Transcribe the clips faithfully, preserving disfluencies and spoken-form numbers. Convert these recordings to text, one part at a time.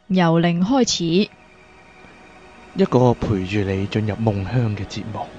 由零開始， 一個陪住你進入夢鄉嘅節目。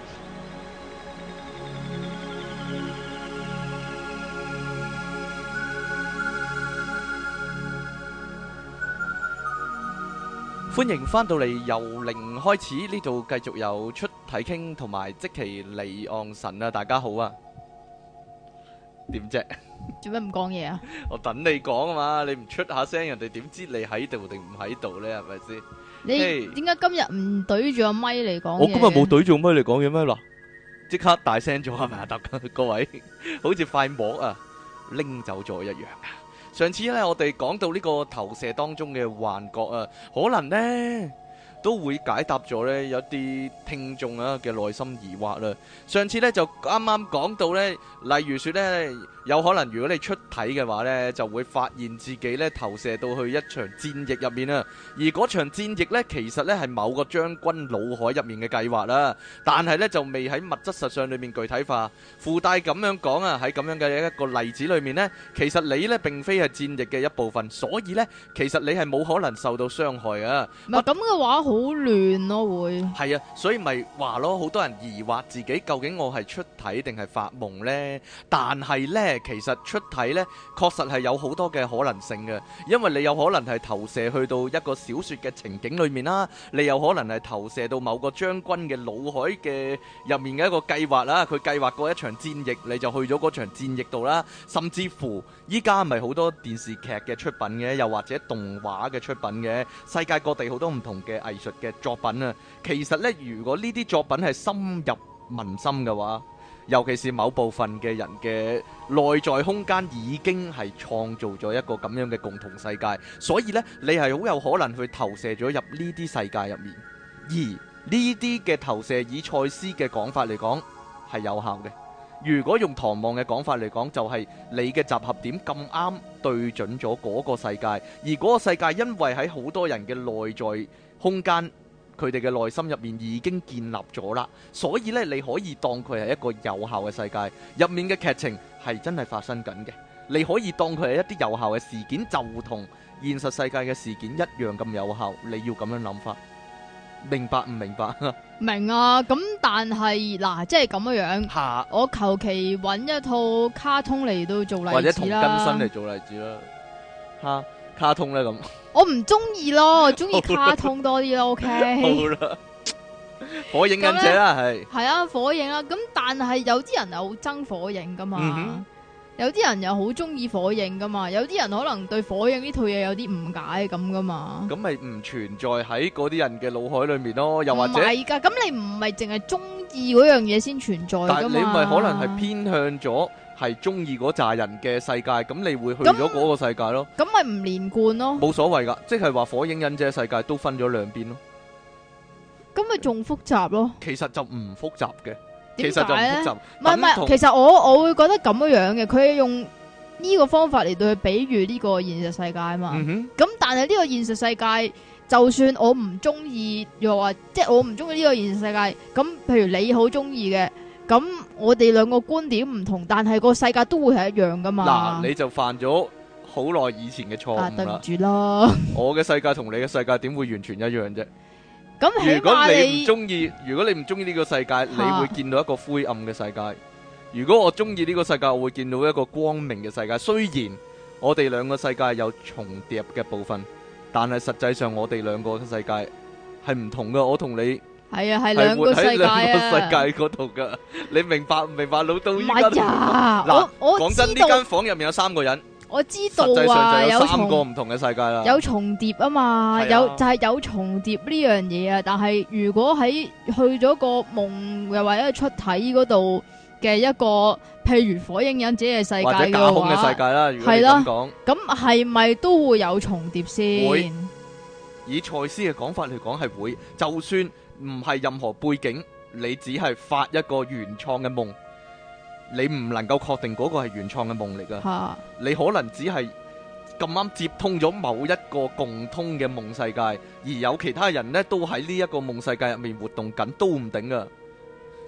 歡迎返到嚟由零開始，呢度繼續有出體傾同埋即其離岸神啊！大家好啊，點啫？ 做咩唔講嘢啊？ 我等你講啊嘛，你唔出下聲，人哋點知你喺度定唔喺度呢？係咪先？ 你點解今日唔對住個咪嚟講嘢？ 我今日冇對住個咪嚟講嘢咩？嗱，即刻大聲咗係咪啊？得各位，好似塊膜啊拎走咗一樣啊！上次咧，我哋講到呢個投射當中嘅幻覺啊，可能呢都會解答咗呢有啲聽眾啊嘅內心疑惑啦。上次呢就啱啱講到呢，例如說呢，有可能如果你出體嘅話呢，就會發現自己呢投射到去一場戰役入面啊。而嗰場戰役呢，其實呢係某個將軍腦海入面嘅計劃啦，但係呢就未喺物質實相裏面具體化。附帶咁樣講啊，喺咁樣嘅一個例子裏面呢，其實你呢並非係戰役嘅一部分，所以呢其實你係冇可能受到傷害啊。 唔係咁嘅話，好亂咯會。 係啊，所以咪話咯，好多人疑惑自己究竟我係出體定係發夢呢？但係呢，其實出體呢確實係有好多嘅可能性嘅，因為你有可能係投射去到一個小說嘅情景裏面啦，你有可能係投射到某個將軍嘅腦海嘅入面嘅一個計劃啦，佢計劃過一場戰役，你就去咗嗰場戰役度啦，甚至乎依家咪好多電視劇嘅出品嘅，又或者動畫嘅出品嘅，世界各地好多唔同嘅藝術嘅作品啊。其實呢，如果呢啲作品係深入民心嘅話，尤其是某部分嘅人嘅內在空間已經係創造咗一個咁樣嘅共同世界，所以呢，你係好有可能去投射咗入呢啲世界入面。而呢啲嘅投射以賽斯嘅講法嚟講係有效嘅。如果用唐望嘅講法嚟講，就係你嘅集合點咁啱對準咗嗰個世界，而嗰個世界因為喺好多人嘅內在空間，佢哋嘅內心入面已經建立咗啦，所以咧你可以當佢係一個有效嘅世界，入面嘅劇情係真係發生緊嘅。你可以當佢係一啲有效嘅事件，就同現實世界嘅事件一樣咁有效。你要咁樣諗法，明白唔明白？ 明啊，咁但係嗱，即係咁樣樣。 下我求其揾一套卡通嚟到做例子啦， 或者同根生嚟做例子啦。吓，卡通咧咁， 我唔中意咯，我中意卡通多啲咯。OK， 好啦，火影忍者啦，係係啊，火影啊。咁但係有啲人又好憎火影噶嘛。 嗯有啲人又好中意火影噶嘛，有啲人可能對火影呢套嘢有啲誤解咁噶嘛。 咁咪唔存在喺嗰啲人嘅腦海裏面咯，又或者唔係㗎，咁你唔係淨係中意嗰樣嘢先存在㗎嘛。 但係你咪可能係偏向咗係中意嗰扎人嘅世界，咁你會去咗嗰個世界咯。 咁咪唔連貫咯。 冇所謂㗎，即係話火影忍者世界都分咗兩邊咯。 咁咪仲複雜咯。 其實就唔複雜嘅。 點其實就唔解咧？ 複雜， 唔係唔係，其實我我會覺得咁樣樣嘅，佢用呢個方法嚟到去比喻呢個現實世界啊嘛。咁、 嗯、 但係呢個現實世界，就算我唔中意，又話即係我唔中意呢個現實世界，咁譬如你好中意嘅，咁我哋兩個觀點唔同，但係個世界都會係一樣噶嘛。 嗱，你就犯咗好耐以前嘅錯誤啦。 啊，對唔住啦。 我嘅世界同你嘅世界點會完全一樣啫？ 咁如果你唔中意，如果你唔中意呢個世界，你會見到一個灰暗嘅世界。如果我中意呢個世界，我會見到一個光明嘅世界。雖然我哋兩個世界有重疊嘅部分，但係實際上我哋兩個嘅世界係唔同噶。我同你係啊，係兩個世界啊， 喺兩個世界嗰度噶。你明白唔明白？老到依家唔係啊，嗱，我講真，呢間房入面有三個人。 我知道啊， 有三個唔同嘅世界啦， 有重疊啊嘛，啊有就係、是、有重疊呢樣嘢啊。但係如果喺去咗個夢又或者出體嗰度嘅一個，譬如火影忍者嘅世界嘅話， 或者架空嘅世界啦，如果你咁講， 咁係咪都會有重疊先？ 會。以賽斯嘅講法嚟講係會，就算唔係任何背景，你只係發一個原創嘅夢。你唔能夠確定嗰個係原創嘅夢嚟噶，你可能只係咁啱接通咗某一個共通嘅夢世界，而有其他人呢都喺呢一個夢世界入面活動緊，都唔定噶。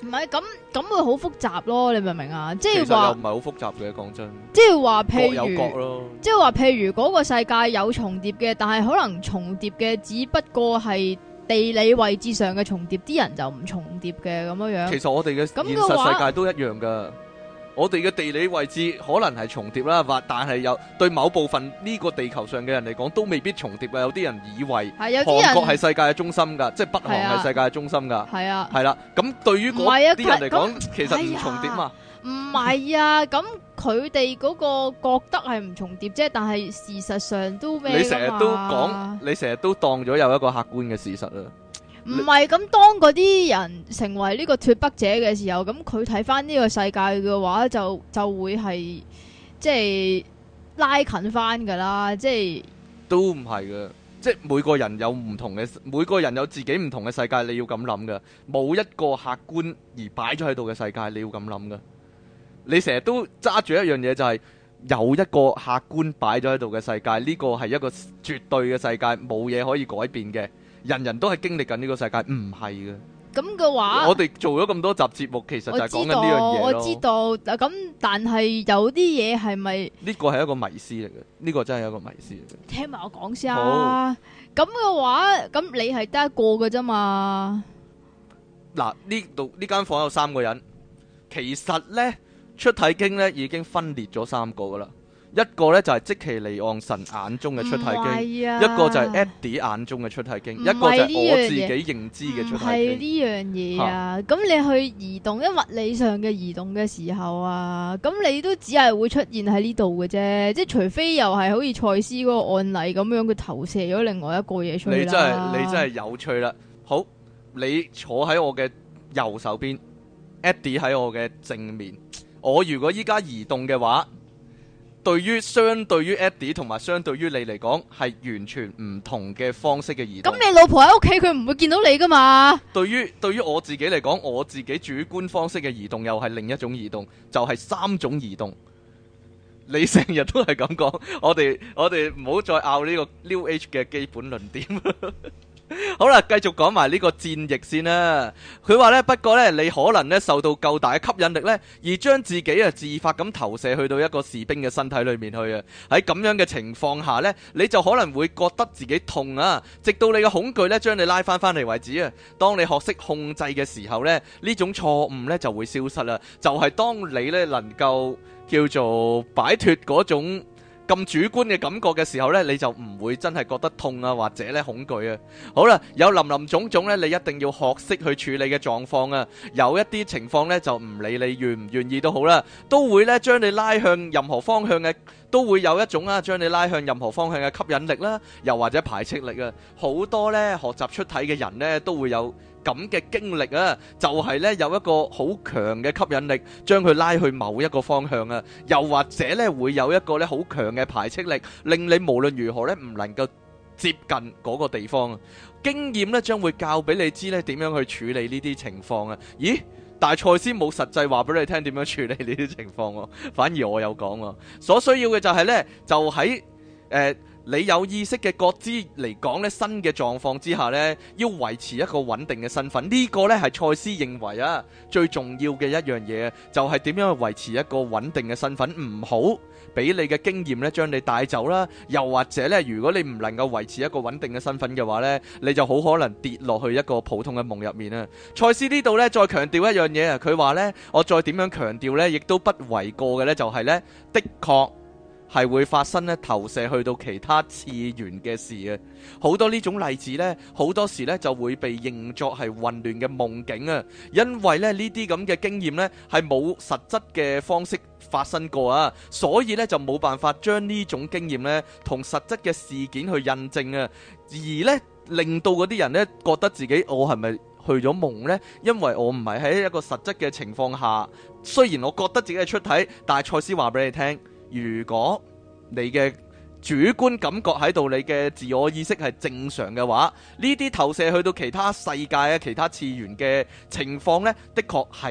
唔係咁咁會好複雜咯，你明唔明啊？即其實又係話唔係好複雜嘅，講真， 即係話各譬有各如咯。 即係話譬如嗰個世界有重疊嘅，但係可能重疊嘅只不過係地理位置上嘅重疊，啲人就唔重疊嘅咁樣樣。 其實我哋嘅咁現嘅話實世界都一樣噶。我哋嘅地理位置可能係重疊啦，或但係有對某部分呢個地球上嘅人嚟講都未必重疊啊！有啲人以為係有啲韓國係人世界嘅中心㗎，即係北韓係啊係世界嘅中心㗎， 係啊， 係啦。咁對於嗰唔係啊啲人嚟講咁， 其實唔哎呀重疊嘛。 唔係啊，咁佢哋嗰個覺得係唔重疊啫，但係事實上都咩㗎嘛？ 你成日都講，你成日都當咗有一個客觀嘅事實啦。 唔係咁，當嗰啲人成為呢個脱北者嘅時候，咁佢睇翻呢個世界嘅話，就就會係即係拉近翻噶啦，即係都唔係嘅，即係每個人有唔同嘅，每個人有自己唔同嘅世界，你要咁諗嘅，冇一個客觀而擺咗喺度嘅世界，你要咁諗嘅。你成日都揸住一樣嘢，就係有一個客觀擺咗喺度嘅世界，呢個係一個絕對嘅世界，冇嘢可以改變嘅。人人都係經歷緊呢個世界，唔係嘅。 咁嘅話， 我哋做咗咁多集節目，其實就係講緊呢樣嘢咯。 我知道，我知道。咁但係有啲嘢係咪？ 呢個係一個迷思嚟嘅，呢個真係一個迷思嚟嘅。 聽埋我講先啊。咁嘅話，咁你係得一個嘅啫嘛？ 嗱，呢度呢間房有三個人，其實呢出體經呢已經分裂咗三個噶啦。一個咧就係即其離岸神眼中嘅出體經， 啊、 一個就係 Eddie 眼中嘅出體經，一個就係我自己認知嘅出體經。 係呢樣嘢啊！咁你去移動，因物理上嘅移動嘅時候啊，咁你都只係會出現喺呢度嘅啫，即係除非又係好似賽斯嗰個案例咁樣，佢投射咗另外一個嘢出嚟。 你真係你真係有趣啦！好，你坐喺我嘅右手邊 ，Eddie 喺我嘅正面。我如果依家移動嘅話，對於相對於 Eddie 同埋相對於你嚟講，係完全唔同嘅方式嘅移動。 咁你老婆喺屋企，佢唔會見到你噶嘛？ 對於對於我自己嚟講，我自己主觀方式嘅移動又係另一種移動，就係、是、三種移動。你成日都係咁講，我哋我哋唔好再拗呢個 New Age 嘅基本論點。好啦，繼續講埋呢個戰役先啦。佢話呢，不過呢，你可能呢受到夠大嘅吸引力呢，而將自己啊自發咁投射去到一個士兵嘅身體裏面去啊。喺咁樣嘅情況下呢，你就可能會覺得自己痛啊，直到你嘅恐懼呢將你拉翻翻嚟為止啊。當你學識控制嘅時候呢，呢種錯誤呢就會消失啦。就係、是、當你呢能夠叫做擺脫嗰種咁主觀嘅感覺嘅時候呢，你就唔會真係覺得痛啊，或者咧恐懼啊。好啦，有林林總總呢，你一定要學識去處理嘅狀況啊。有一啲情況呢，就唔理你願唔願意都好啦，都會呢將你拉向任何方向嘅，都會有一種啊將你拉向任何方向嘅吸引力啦，又或者排斥力啊。好多呢學習出體嘅人呢，都會有咁嘅經歷啊，就係呢有一個好強嘅吸引力，將佢拉去某一個方向啊，又或者呢會有一個呢好強嘅排斥力，令你無論如何呢唔能夠接近嗰個地方啊。經驗呢將會教俾你知呢點樣去處理呢啲情況啊。咦？但係賽斯冇實際話俾你聽點樣處理呢啲情況喎，反而我有講喎。所需要嘅就係呢，就喺誒。呃你有意識嘅覺知嚟講呢，新嘅狀況之下呢，要維持一個穩定嘅身份，呢、這個呢係賽斯認為啊最重要嘅一樣嘢，就係、是、點樣去維持一個穩定嘅身份，唔好俾你嘅經驗呢將你帶走啦。又或者呢，如果你唔能夠維持一個穩定嘅身份嘅話呢，你就好可能跌落去一個普通嘅夢入面啊。賽斯呢度呢，再強調一樣嘢啊，佢話呢，我再點樣強調呢，亦都不為過嘅呢，就係呢，的確係會發生咧投射去到其他次元嘅事嘅，好多呢種例子呢，好多時呢就會被認作係混亂嘅夢境啊，因為咧呢啲咁嘅經驗呢係冇實質嘅方式發生過啊，所以呢就冇辦法將呢種經驗呢同實質嘅事件去印證啊，而呢令到嗰啲人呢覺得自己我係咪去咗夢呢？因為我唔係喺一個實質嘅情況下，雖然我覺得自己係出體，但係賽斯話俾你聽。如果你嘅主觀感覺喺度，你嘅自我意識係正常嘅話，呢啲投射去到其他世界啊、其他次元嘅情況呢，的確係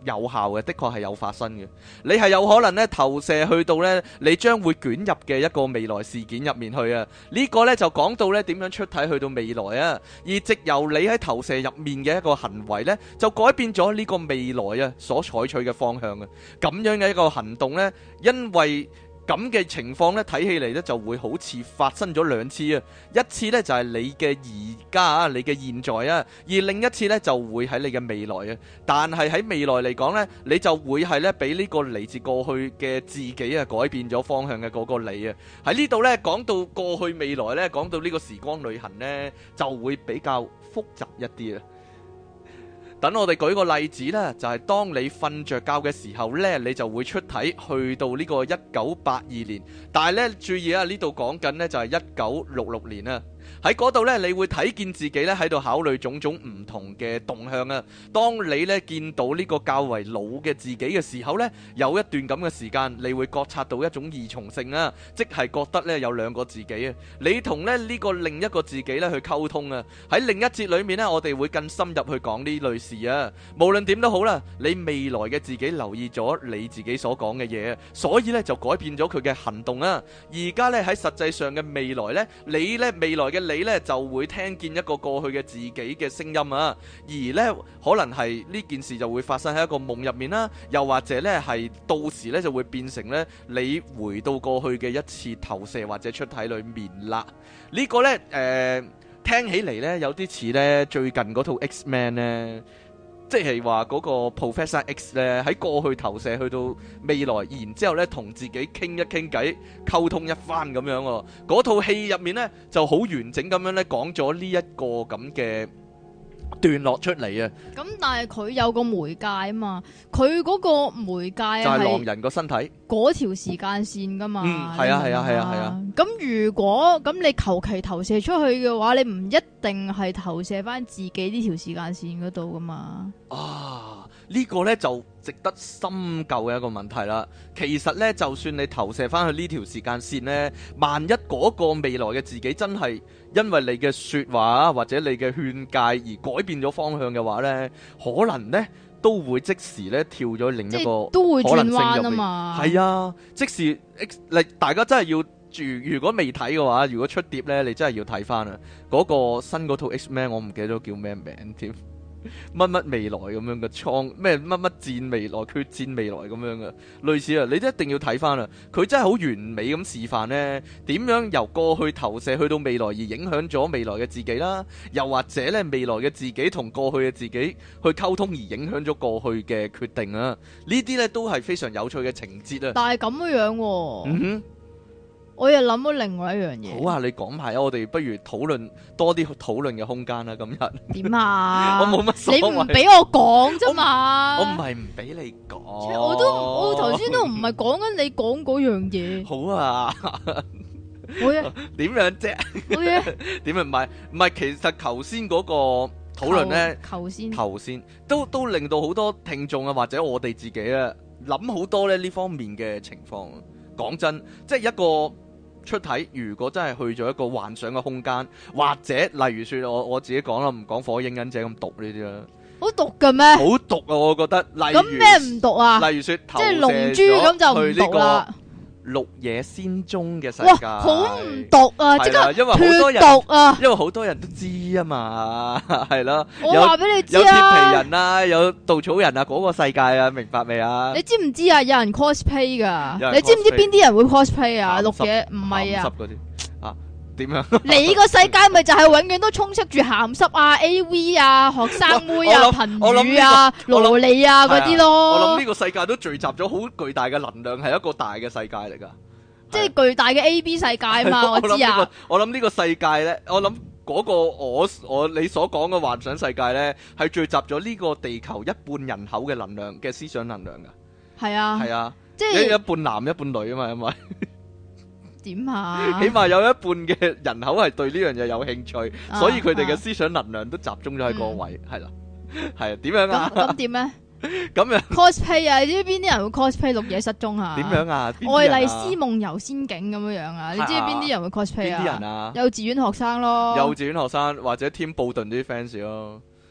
有效嘅，的確係有發生嘅。你係有可能咧投射去到咧你將會捲入嘅一個未來事件入面去啊。呢個咧就講到咧點樣出體去到未來啊，而藉由你喺投射入面嘅一個行為咧，就改變咗呢個未來啊所採取嘅方向啊。咁樣嘅一個行動咧，因為咁嘅情況咧，睇起嚟咧就會好似發生咗兩次啊！一次咧就係你嘅而家啊，你嘅現在啊，而另一次咧就會喺你嘅未來啊。但係喺未來嚟講咧，你就會係咧俾呢個嚟自過去嘅自己啊改變咗方向嘅嗰個你啊。喺呢度咧講到過去未來咧，講到呢個時光旅行咧，就會比較複雜一啲啊。等我哋舉個例子啦，就係當你瞓着覺嘅時候呢，你就會出體去到呢個一九八二年。但係呢，注意啊，呢度講緊呢就係一九六六年啊。喺嗰度呢，你會睇見自己呢喺度考慮種種唔同嘅動向啊。當你呢見到呢個較為老嘅自己嘅時候呢，有一段咁嘅時間，你會覺察到一種異重性啊，即係覺得呢有兩個自己啊。你同呢呢個另一個自己呢去溝通啊。喺另一節裏面呢，我哋會更深入去講呢類事啊。無論點都好啦，你未來嘅自己留意咗你自己所講嘅嘢，所以呢就改變咗佢嘅行動啊。而家呢喺實際上嘅未來呢，你呢未來嘅你呢就會聽見一個過去嘅自己嘅聲音啊，而呢可能係呢件事就會發生喺一個夢入面啦，又或者呢係到時呢就會變成呢你回到過去嘅一次投射或者出體裏面啦。呢、這個呢，誒、呃、聽起嚟呢有啲似呢最近嗰套 X-Men 呢。即係話嗰個 Professor X 咧喺過去投射去到未來，然之後咧同自己傾一傾偈，溝通一番咁樣喎。嗰套戲入面咧就好完整咁樣咧講咗呢一個咁嘅段落出嚟啊。咁但係佢有個媒介啊嘛，佢嗰個媒介就係狼人個身體嗰條時間線噶嘛。 嗯，係啊係啊係啊係啊。 咁如果咁你求其投射出去嘅話，你唔一定係投射翻自己呢條時間線嗰度噶嘛。 啊，呢個呢就值得深究嘅一個問題啦。其實呢，就算你投射翻去呢條時間線呢，萬一嗰個未來嘅自己真係因為你嘅說話或者你嘅勸誡而改變咗方向嘅話呢，可能呢都會即時呢跳咗另一個都會轉彎可能性入面。 啊嘛。 係啊，即時 X，你大家真係要住。如果未睇嘅話，如果出碟呢，你真係要睇翻啊。嗰個新嗰套 X-Men 我唔記得咗叫咩名添。乜乜未來咁樣嘅創咩乜乜戰未來決戰未來咁樣嘅類似啊，你都一定要睇翻啊！佢真係好完美咁示範呢，點樣由過去投射去到未來而影響咗未來嘅自己啦，又或者呢未來嘅自己同過去嘅自己去溝通而影響咗過去嘅決定啊！呢啲呢都係非常有趣嘅情節啊！ 但係咁樣喎， 嗯哼。 我又諗到另外一樣嘢。 好啊，你講埋啊，我哋不如討論多啲討論嘅空間啦。今日點啊？ 我冇乜所謂。 你唔俾我講啫嘛？ 我唔係唔俾你講。 我都我頭先都唔係講緊你講嗰樣嘢。 好啊。 好嘢。 點樣啫？ 好嘢。 點樣唔係唔係？其實頭先嗰個討論咧， 頭先頭先都都令到好多聽眾啊，或者我哋自己啊，諗好多咧呢方面嘅情況。講真，即係一個。出體如果真係去咗一個幻想嘅空間，或者例如說我我自己講啦，唔講火影忍者咁毒呢啲啦， 好毒嘅咩？ 好毒啊！我覺得。 咁咩唔毒啊？ 例如說， 即係龍珠咁就唔毒啦。 綠野仙蹤嘅世界， 哇，好唔毒啊！即刻因為好多人毒啊！ 因為好多人都知啊嘛，係咯。 我話俾你知啊， 有鐵皮人啊，有稻草人啊，嗰個世界啊，明白未啊？ 你知唔知啊？有人 cosplay 噶，你知唔知邊啲人會 cosplay 啊？綠野唔係啊， 嗰啲啊，點樣？ 你個世界咪就係永遠都充斥住鹹濕啊、A V 啊、學生妹啊、貧乳啊、蘿莉啊嗰啲咯。 我諗呢個世界都聚集咗好巨大嘅能量，係一個大嘅世界嚟噶， 即係巨大嘅 A B 世界啊嘛。我知啊。 我諗呢個世界咧，我諗嗰個我我你所講嘅幻想世界咧，係聚集咗呢個地球一半人口嘅能量嘅思想能量噶。 係啊。 係啊。 即係一半男一半女啊嘛，因為。 點啊？ 起碼有一半嘅人口係對呢樣嘢有興趣， 啊、 所以佢哋嘅思想能量都集中咗喺嗰個位，係啦、嗯，係啊，點樣啊？ 咁點咧？ 咁樣 cosplay 啊？你知唔知邊啲人會 cosplay 綠野失蹤啊？ 點樣啊？ 愛麗絲夢遊仙境咁樣樣啊？你知唔知邊啲人會 cosplay 啊？ 邊啲人啊？ 幼稚園學生咯， 幼稚園學生或者添布頓啲 fans 咯。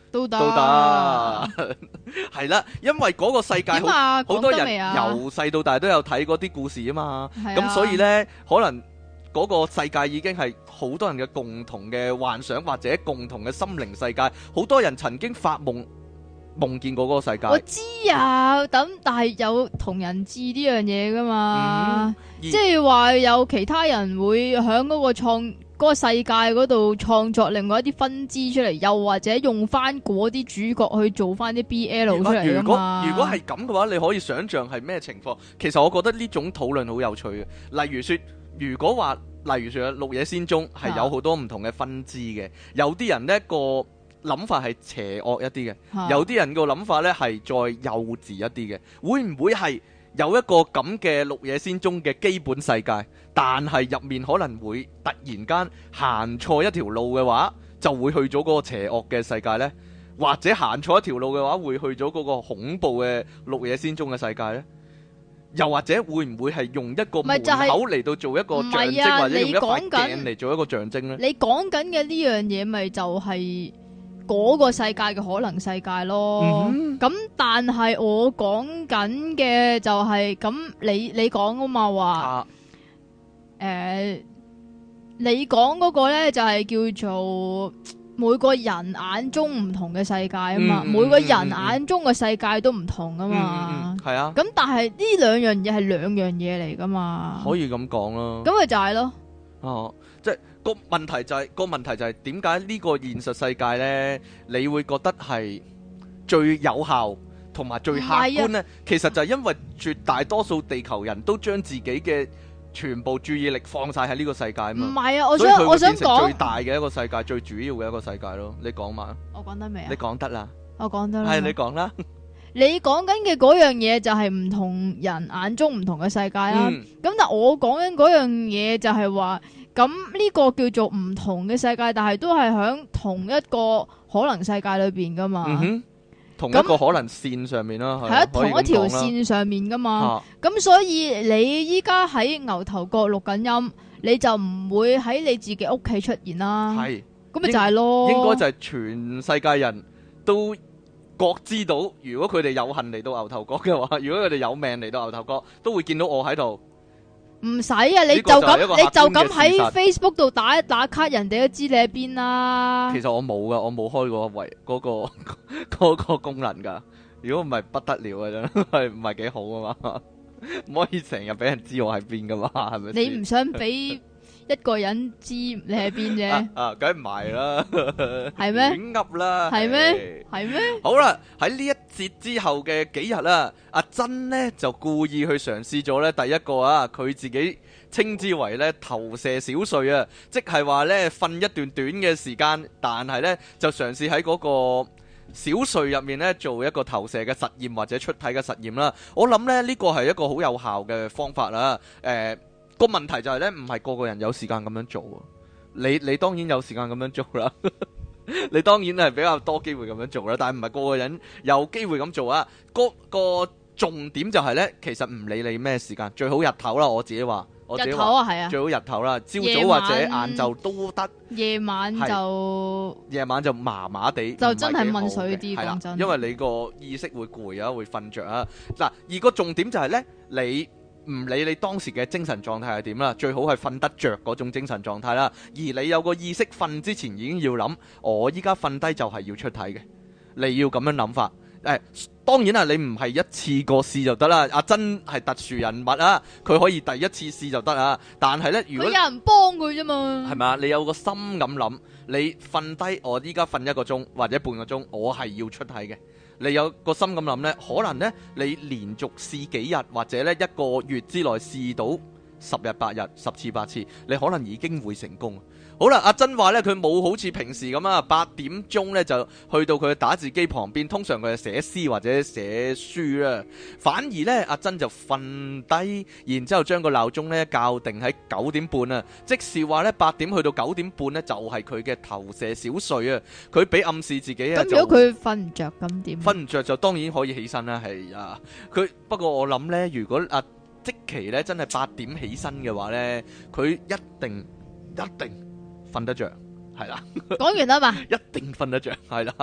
都得都得，係啦，因為嗰個世界好點啊？ 好多人講得未啊？ 由細到大都有睇嗰啲故事啊嘛， 係啊咁所以呢，可能嗰個世界已經係好多人嘅共同嘅幻想或者共同嘅心靈世界，好多人曾經發夢夢見過嗰個世界。 我知啊，咁但係有同人誌呢樣嘢噶嘛， 嗯、 即係話有其他人會喺嗰個創嗰、嗰個世界嗰度創作另外一啲分支出嚟，又或者用翻嗰啲主角去做翻啲 B L 出嚟噶嘛。 如果係咁嘅話，你可以想象係咩情況？其實我覺得呢種討論好有趣嘅。例如說，如果話，例如說《綠野仙蹤》係有好多唔同嘅分支嘅，有啲人呢個諗法係邪惡一啲嘅， 啊、有啲人個諗法呢係再幼稚一啲嘅。會唔會係有一個咁嘅《綠野仙蹤》嘅基本世界，但係入面可能會突然間行錯一條路嘅話，就會去咗嗰個邪惡嘅世界呢？或者行錯一條路嘅話，會去咗嗰個恐怖嘅《綠野仙蹤》嘅世界呢？又或者會唔會係用一個門口嚟到做一個象徵， 啊、 或者用一塊鏡嚟做一個象徵呢？ 你講緊嘅呢樣嘢，咪就係嗰個世界嘅可能世界咯。咁、嗯、但係我講緊嘅就係、是、咁，你你講啊嘛話，誒、啊呃，你講嗰個咧就係叫做每個人眼中唔同嘅世界啊嘛，嗯、每個人眼中嘅世界都唔同啊嘛， 係、嗯嗯嗯、啊。 咁但係呢兩樣嘢係兩樣嘢嚟噶嘛， 可以咁講咯。 咁咪就係咯。 哦，即係個問題就係、是、個問題就係點解呢個現實世界咧，你會覺得係最有效同埋最客觀咧？其實就係因為絕大多數地球人都將自己嘅全部注意力放晒喺呢個世界啊嘛。唔係啊，我想我想講最大嘅一個世界，最主要嘅一個世界咯。你講嘛？ 我講得未啊？ 你講得啦。 我講得啦。係你講啦。 你講緊嘅嗰樣嘢就係唔同人眼中唔同嘅世界啦。咁、嗯、但係我講緊嗰樣嘢就係話，咁呢個叫做唔同嘅世界，但係都係喺同一個可能世界裏邊噶嘛。嗯哼， 同一個可能線上面啦，係喺同一條線上面噶嘛。咁、啊、所以你依家喺牛頭角錄緊音，你就唔會喺你自己屋企出現啦。係，咁咪就係咯。 應該就係全世界人都各知道，如果佢哋有幸嚟到牛頭角嘅話，如果佢哋有命嚟到牛頭角，都會見到我喺度。 唔使啊，你就咁，你就咁喺 Facebook 度打一打卡，人哋都知你喺邊啦。 其實我冇噶，我冇開過圍嗰個嗰個功能噶。如果唔係不得了啊，真係唔係幾好啊嘛，唔可以成日俾人知我喺邊噶嘛，係咪？ 你唔想俾一個人知你喺邊啫？ 啊，梗唔係啦， 係咩？ 亂噏啦， 係咩？係咩？ 好啦，喺呢一節之後嘅幾日啦，阿珍呢就故意去嘗試咗呢第一個啊，佢自己稱之為呢投射小睡啊，即係話呢瞓一段短嘅時間，但係呢就嘗試喺嗰個小睡入面呢做一個投射嘅實驗或者出體嘅實驗啦。我諗呢呢個係一個好有效嘅方法啦，誒、呃。個問題就係咧，唔係個個人有時間咁樣做啊！你你當然有時間咁樣做啦，你當然係比較多機會咁樣做啦，但係唔係個個人有機會咁做啊！個個重點就係咧，其實唔理你咩時間，最好日頭啦。我自己話，我自己話， 日頭啊，係啊， 最好日頭啦，朝早或者晏晝都得。夜晚就夜晚就麻麻地， 就真係問水啲，講真， 因為你個意識會攰啊，會瞓着啊。嗱，而個重點就係咧，你。唔理你當時嘅精神狀態係點啦，最好係瞓得着嗰種精神狀態啦。而你有個意識瞓之前已經要諗，我依家瞓低就係要出體嘅，你要咁樣諗法。誒，當然啦，你唔係一次過試就得啦。阿珍係特殊人物啊，佢可以第一次試就得啊。但係呢，如果有人幫佢啫嘛， 係咪？你有個心咁諗，你瞓低，我依家瞓一個鐘或者半個鐘，我係要出體嘅。你有個心咁諗呢，可能呢，你連續試幾日或者呢一個月之內試到十日八日十次八次，你可能已經會成功。好啦，阿珍話呢，佢冇好似平時咁啊，八點鐘呢就去到佢嘅打字機旁邊，通常佢係寫詩或者寫書啦。反而呢，阿珍就瞓低，然之後將個鬧鐘呢校定喺九點半啊，即是話呢，八點去到九點半呢，就係佢嘅投射小睡啊。佢俾暗示自己啊， 咁如果佢瞓唔着咁點？ 瞓唔着就當然可以起身啦，係啊。佢不過我諗呢，如果阿即期呢真係八點起身嘅話呢，佢一定一定瞓得着，係啦。 講完啦嘛， 一定瞓得着，係啦。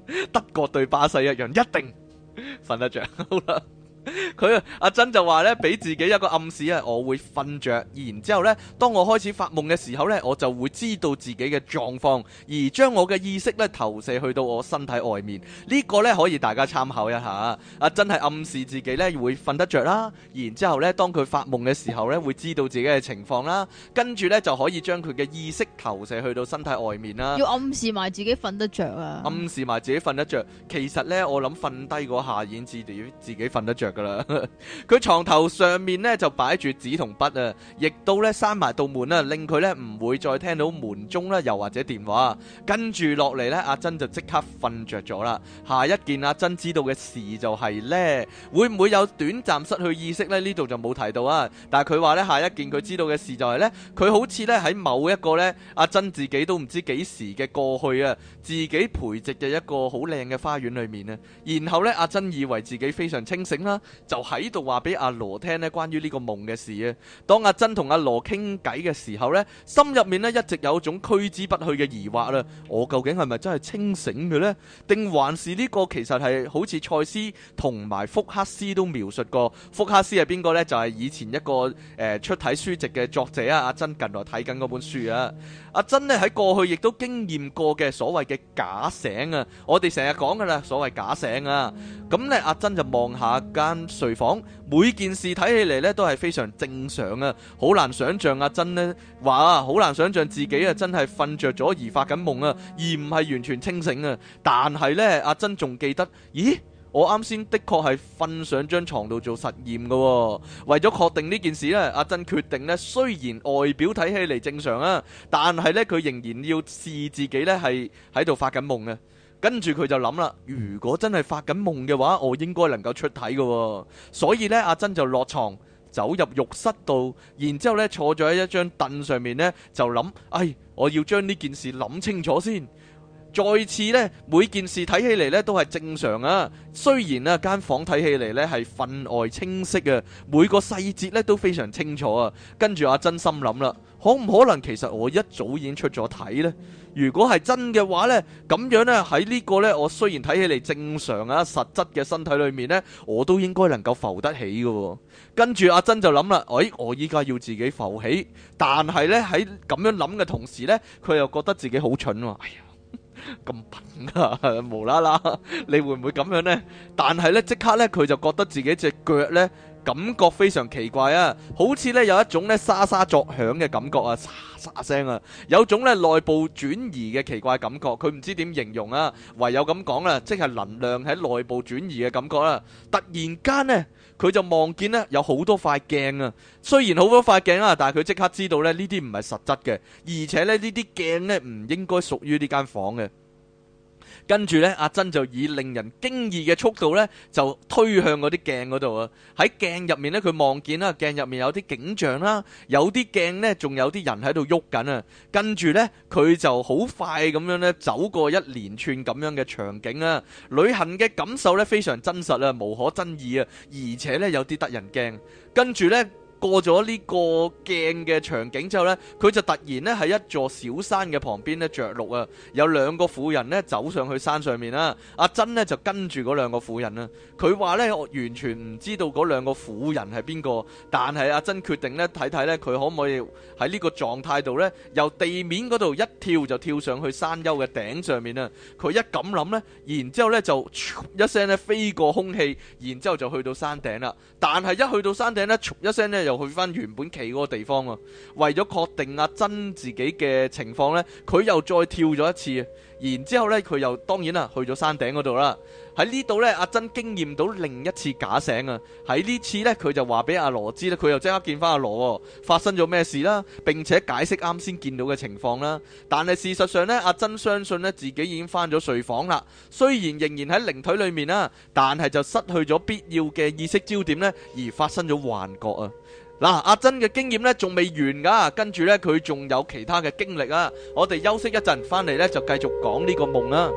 德國對巴西一樣，一定瞓得着。好啦。佢阿珍就話咧，俾自己一個暗示啊，我會瞓着，然之後咧，當我開始發夢嘅時候咧，我就會知道自己嘅狀況，而將我嘅意識咧投射去到我身體外面。呢個咧可以大家參考一下。阿珍係暗示自己咧會瞓得着啦，然之後咧，當佢發夢嘅時候咧，會知道自己嘅情況啦，跟住咧就可以將佢嘅意識投射去到身體外面啦。 要暗示埋自己瞓得着啊！ 暗示埋自己瞓得着，其實咧我諗瞓低嗰下已經知道自己瞓得着。佢床頭上面咧就擺住紙同筆啊，亦都咧閂埋道門啊，令佢咧唔會再聽到門鐘啦，又或者電話。跟住落嚟咧，阿珍就即刻瞓着咗啦。下一件阿珍知道嘅事就係咧，會唔會有短暫失去意識咧？呢度就冇提到啊。但係佢話咧，下一件佢知道嘅事就係咧，佢好似咧喺某一個咧阿珍自己都唔知幾時嘅過去啊，自己培植嘅一個好靚嘅花園裏面啊。然後咧，阿珍以為自己非常清醒啦。就喺度話俾阿羅聽咧，關於呢個夢嘅事啊。當阿珍同阿羅傾偈嘅時候呢，心入面咧一直有種揮之不去嘅疑惑啦。我究竟係咪真係清醒嘅呢？定還是呢個其實係好似賽斯同埋福克斯都描述過？福克斯係邊個呢？就係、是、以前一個誒、呃、出體書籍嘅作者啊。阿珍近來睇緊嗰本書啊。阿珍咧喺過去亦都經驗過嘅所謂嘅假醒啊。我哋成日講噶啦，所謂假醒啊。咁咧，阿珍就望下間睡房，每件事睇起嚟咧都係非常正常啊，好難想象阿珍呢話啊，好難想象自己啊真係瞓着咗而發緊夢啊，而唔係完全清醒啊。但係呢，阿珍仲記得，咦？我啱先的確係瞓上張床度做實驗嘅。為咗確定呢件事呢，阿珍決定呢，雖然外表睇起嚟正常啊，但係呢，佢仍然要試自己呢係喺度發緊夢啊。跟住佢就諗啦，如果真係發緊夢嘅話，我應該能夠出體嘅。所以呢，阿珍就落床走入浴室度，然之後呢坐咗喺一張凳上面呢，就諗，哎，我要將呢件事諗清楚先。再次呢，每件事睇起嚟呢都係正常啊。雖然呢間房睇起嚟呢係分外清晰啊，每個細節呢都非常清楚啊。跟住阿珍心諗啦，可唔可能其實我一早已經出咗體呢？如果係真嘅話呢，咁樣呢，喺呢個呢，我雖然睇起嚟正常啊，實質嘅身體裏面呢，我都應該能夠浮得起嘅。跟住阿珍就諗啦，哎，我依家要自己浮起，但係呢，喺咁樣諗嘅同時呢，佢又覺得自己好蠢喎。哎呀！咁笨啊，無啦啦，你會唔會咁樣呢？但係呢，即刻呢，佢就覺得自己隻腳呢，感覺非常奇怪啊，好似呢有一種呢沙沙作響嘅感覺啊，沙沙聲啊，有種呢內部轉移嘅奇怪感覺，佢唔知點形容啊，唯有咁講啦，即係能量喺內部轉移嘅感覺啦。突然間呢，佢就望見呢有好多塊鏡啊，雖然好多塊鏡啊，但係佢即刻知道呢呢啲唔係實質嘅，而且呢呢啲鏡呢唔應該屬於呢間房嘅。跟住呢，阿珍就以令人驚異嘅速度呢，就推向嗰啲鏡嗰度啊！喺鏡入面呢，佢望見啦，鏡入面有啲景象啦，有啲鏡呢，仲有啲人喺度喐緊啊！跟住呢，佢就好快咁樣呢，走過一連串咁樣嘅場景啊！旅行嘅感受呢，非常真實啊，無可爭議啊，而且呢，有啲得人驚。跟住呢，過咗呢個鏡嘅場景之後呢，佢就突然呢喺一座小山嘅旁邊呢着陸啊！有兩個婦人呢走上去山上面啦，阿珍呢就跟住嗰兩個婦人啦。佢話呢，我完全唔知道嗰兩個婦人係邊個，但係阿珍決定呢睇睇呢，佢可唔可以喺呢個狀態度呢，由地面嗰度一跳就跳上去山丘嘅頂上面啊！佢一咁諗呢，然之後呢就一聲呢飛過空氣，然之後就去到山頂啦。但係一去到山頂呢，一聲呢又去翻原本企嗰個地方啊！為咗確定阿珍自己嘅情況呢，佢又再跳咗一次，然之後呢佢又當然啦去咗山頂嗰度啦。喺呢度呢，阿珍經驗到另一次假醒啊！喺呢次呢，佢就話俾阿羅知咧，佢又即刻見翻阿羅，發生咗咩事啦，並且解釋啱先見到嘅情況啦。但係事實上呢，阿珍相信呢自己已經翻咗睡房啦，雖然仍然喺靈體裏面啦，但係就失去咗必要嘅意識焦點呢，而發生咗幻覺啊！嗱，阿珍嘅經驗呢仲未完噶，跟住呢，佢仲有其他嘅經歷啊！我哋休息一陣，翻嚟呢就繼續講呢個夢啦。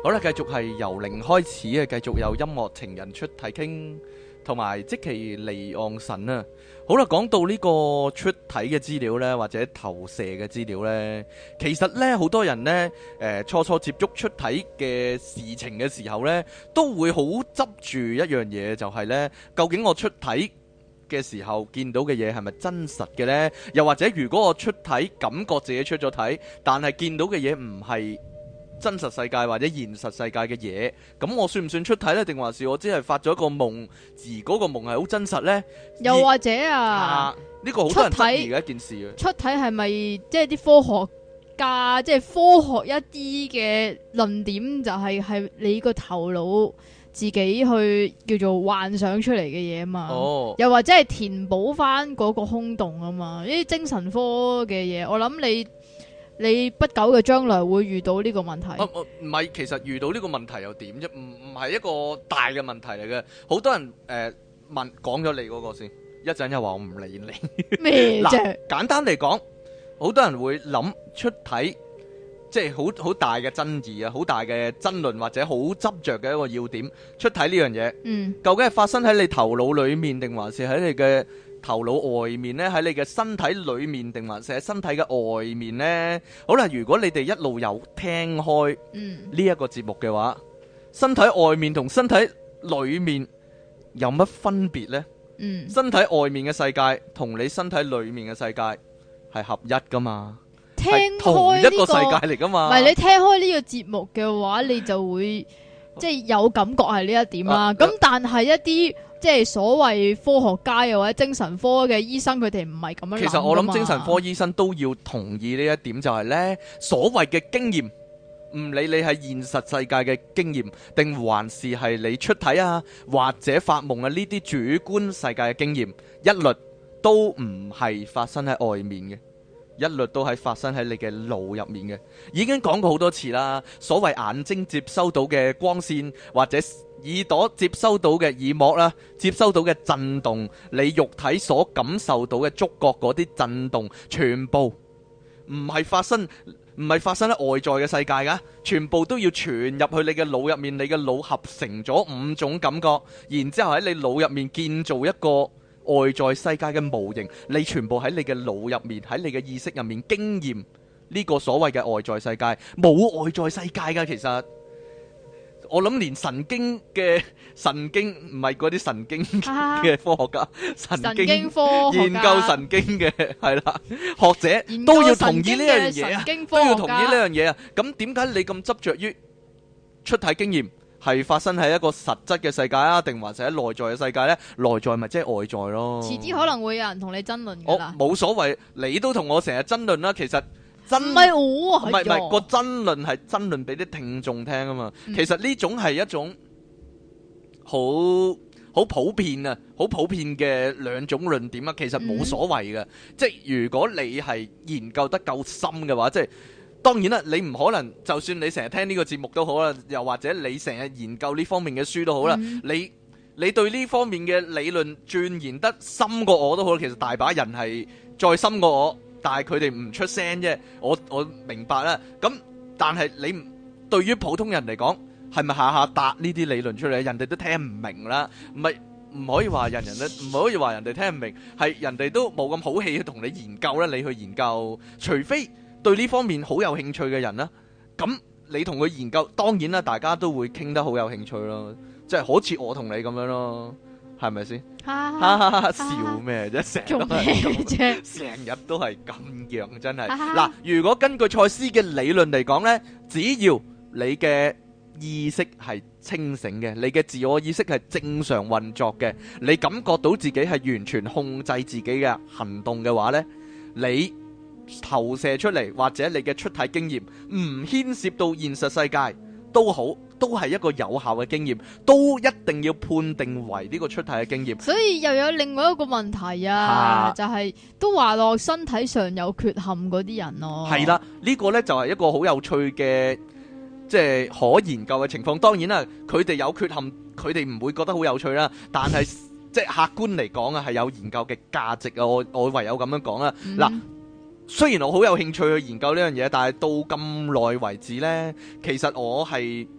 好啦，繼續係由零開始嘅，繼續有音樂情人出題傾，同埋即其離岸神啊。好啦，講到呢個出體嘅資料呢，或者投射嘅資料呢，其實呢，好多人呢，誒、呃、初初接觸出體嘅事情嘅時候呢，都會好執住一樣嘢，就係呢：究竟我出體嘅時候見到嘅嘢係咪真實嘅呢？又或者如果我出體感覺自己出咗體，但係見到嘅嘢唔係真實世界或者現實世界嘅嘢，咁我算唔算出體呢？定還是我只係發咗一個夢，而嗰個夢係好真實呢？ 又或者啊， 啊，呢個好多人質疑嘅一件事啊。 出體係咪即係啲科學家，即係科學一啲嘅論點，就係係你個頭腦自己去叫做幻想出嚟嘅嘢啊嘛。 哦， 又或者係填補翻嗰個空洞啊嘛。呢啲精神科嘅嘢，我諗你。你不久嘅將來會遇到呢個問題。 啊，唔係，其實遇到呢個問題又點啫？唔唔係一個大嘅問題嚟嘅。好多人誒、呃、問講咗你嗰個先，一陣又話我唔理你。 咩啫？ 簡單嚟講，好多人會諗出體，即係好好大嘅爭議啊，好大嘅爭論或者好執着嘅一個要點。出體呢樣嘢， 嗯， 究竟係發生喺你頭腦裡面，定還是喺你嘅頭腦外面呢？喺你嘅身體裏面，定還是喺身體嘅外面呢？好啦，如果你哋一路有聽開呢一個節目嘅話，身體外面同身體裏面有乜分別呢？嗯，身體外面嘅世界同你身體裏面嘅世界係合一噶嘛？ 聽開同一個世界嚟噶嘛？ 唔係，你聽開呢個節目嘅話，你就會即係有感覺係呢一點啦。咁、啊、但係一啲即係所謂科學家又或者精神科嘅醫生，佢哋唔係咁樣諗。其實我諗精神科醫生都要同意呢一點，就係呢所謂嘅經驗，唔理你係現實世界嘅經驗，定還是係你出體啊或者發夢啊呢啲主觀世界嘅經驗，一律都唔係發生喺外面嘅，一律都係發生喺你嘅腦入面嘅。已經講過好多次啦，所謂眼睛接收到嘅光線或者耳朵接收到嘅耳膜啦，接收到嘅震動，你肉體所感受到嘅觸覺嗰啲震動，全部唔係發生唔係發生喺外在嘅世界噶，全部都要傳入去你嘅腦入面，你嘅腦合成咗五種感覺，然之後喺你腦入面建造一個外在世界嘅模型，你全部喺你嘅腦入面，喺你嘅意識入面經驗呢個所謂嘅外在世界，冇外在世界噶。其實我諗連神經嘅神經唔係嗰啲神經嘅科學家，啊、神經，神經科學家研究神經嘅係啦，學者都要同意呢樣嘢啊，都要同意呢樣嘢啊。咁點解你咁執着於出體經驗係發生喺一個實質嘅世界啊，定還是喺內在嘅世界呢？內在咪即係外在咯。遲啲可能會有人同你爭論㗎啦。 我冇所謂，你都同我成日爭論啦。其實。唔係我啊， 唔係唔係個爭論係爭論俾啲聽眾聽啊嘛。嗯、其實呢種係一種好好普遍啊，好普遍嘅兩種論點啊。其實冇所謂嘅，嗯、即係如果你係研究得夠深嘅話，即係當然啦，你唔可能就算你成日聽呢個節目都好啦，又或者你成日研究呢方面嘅書都好啦，嗯、你你對呢方面嘅理論鑽研得深過我都好，其實大把人係再深過我。但係佢哋唔出聲啫，我我明白啦。咁但係你對於普通人嚟講，係咪下下答呢啲理論出嚟？人哋都聽唔明啦。唔係唔可以話人人咧，唔可以話人哋聽唔明，係人哋都冇咁好氣去同你研究啦。你去研究，除非對呢方面好有興趣嘅人啦。咁你同佢研究，當然啦，大家都會傾得好有興趣咯。即係好似我同你咁樣咯。係咪先？笑咩啫？成日都係，成日都係咁樣，真係。嗱，如果根據賽斯嘅理論嚟講呢，只要你嘅意識係清醒嘅，你嘅自我意識係正常運作嘅，你感覺到自己係完全控制自己嘅行動嘅話呢，你投射出嚟或者你嘅出體經驗唔牽涉到現實世界都好，都係一個有效嘅經驗，都一定要判定為呢個出體嘅經驗。 所以又有另外一個問題啊，啊就係、是、都話落身體上有缺陷嗰啲人咯。 係啦，呢、這個呢就係一個好有趣嘅，即係可研究嘅情況。當然啦，佢哋有缺陷，佢哋唔會覺得好有趣啦。但係即係客觀嚟講啊，係有研究嘅價值啊。我我唯有咁樣講啦。嗱、嗯。雖然我好有興趣去研究呢樣嘢，但係到咁耐為止呢，其實我係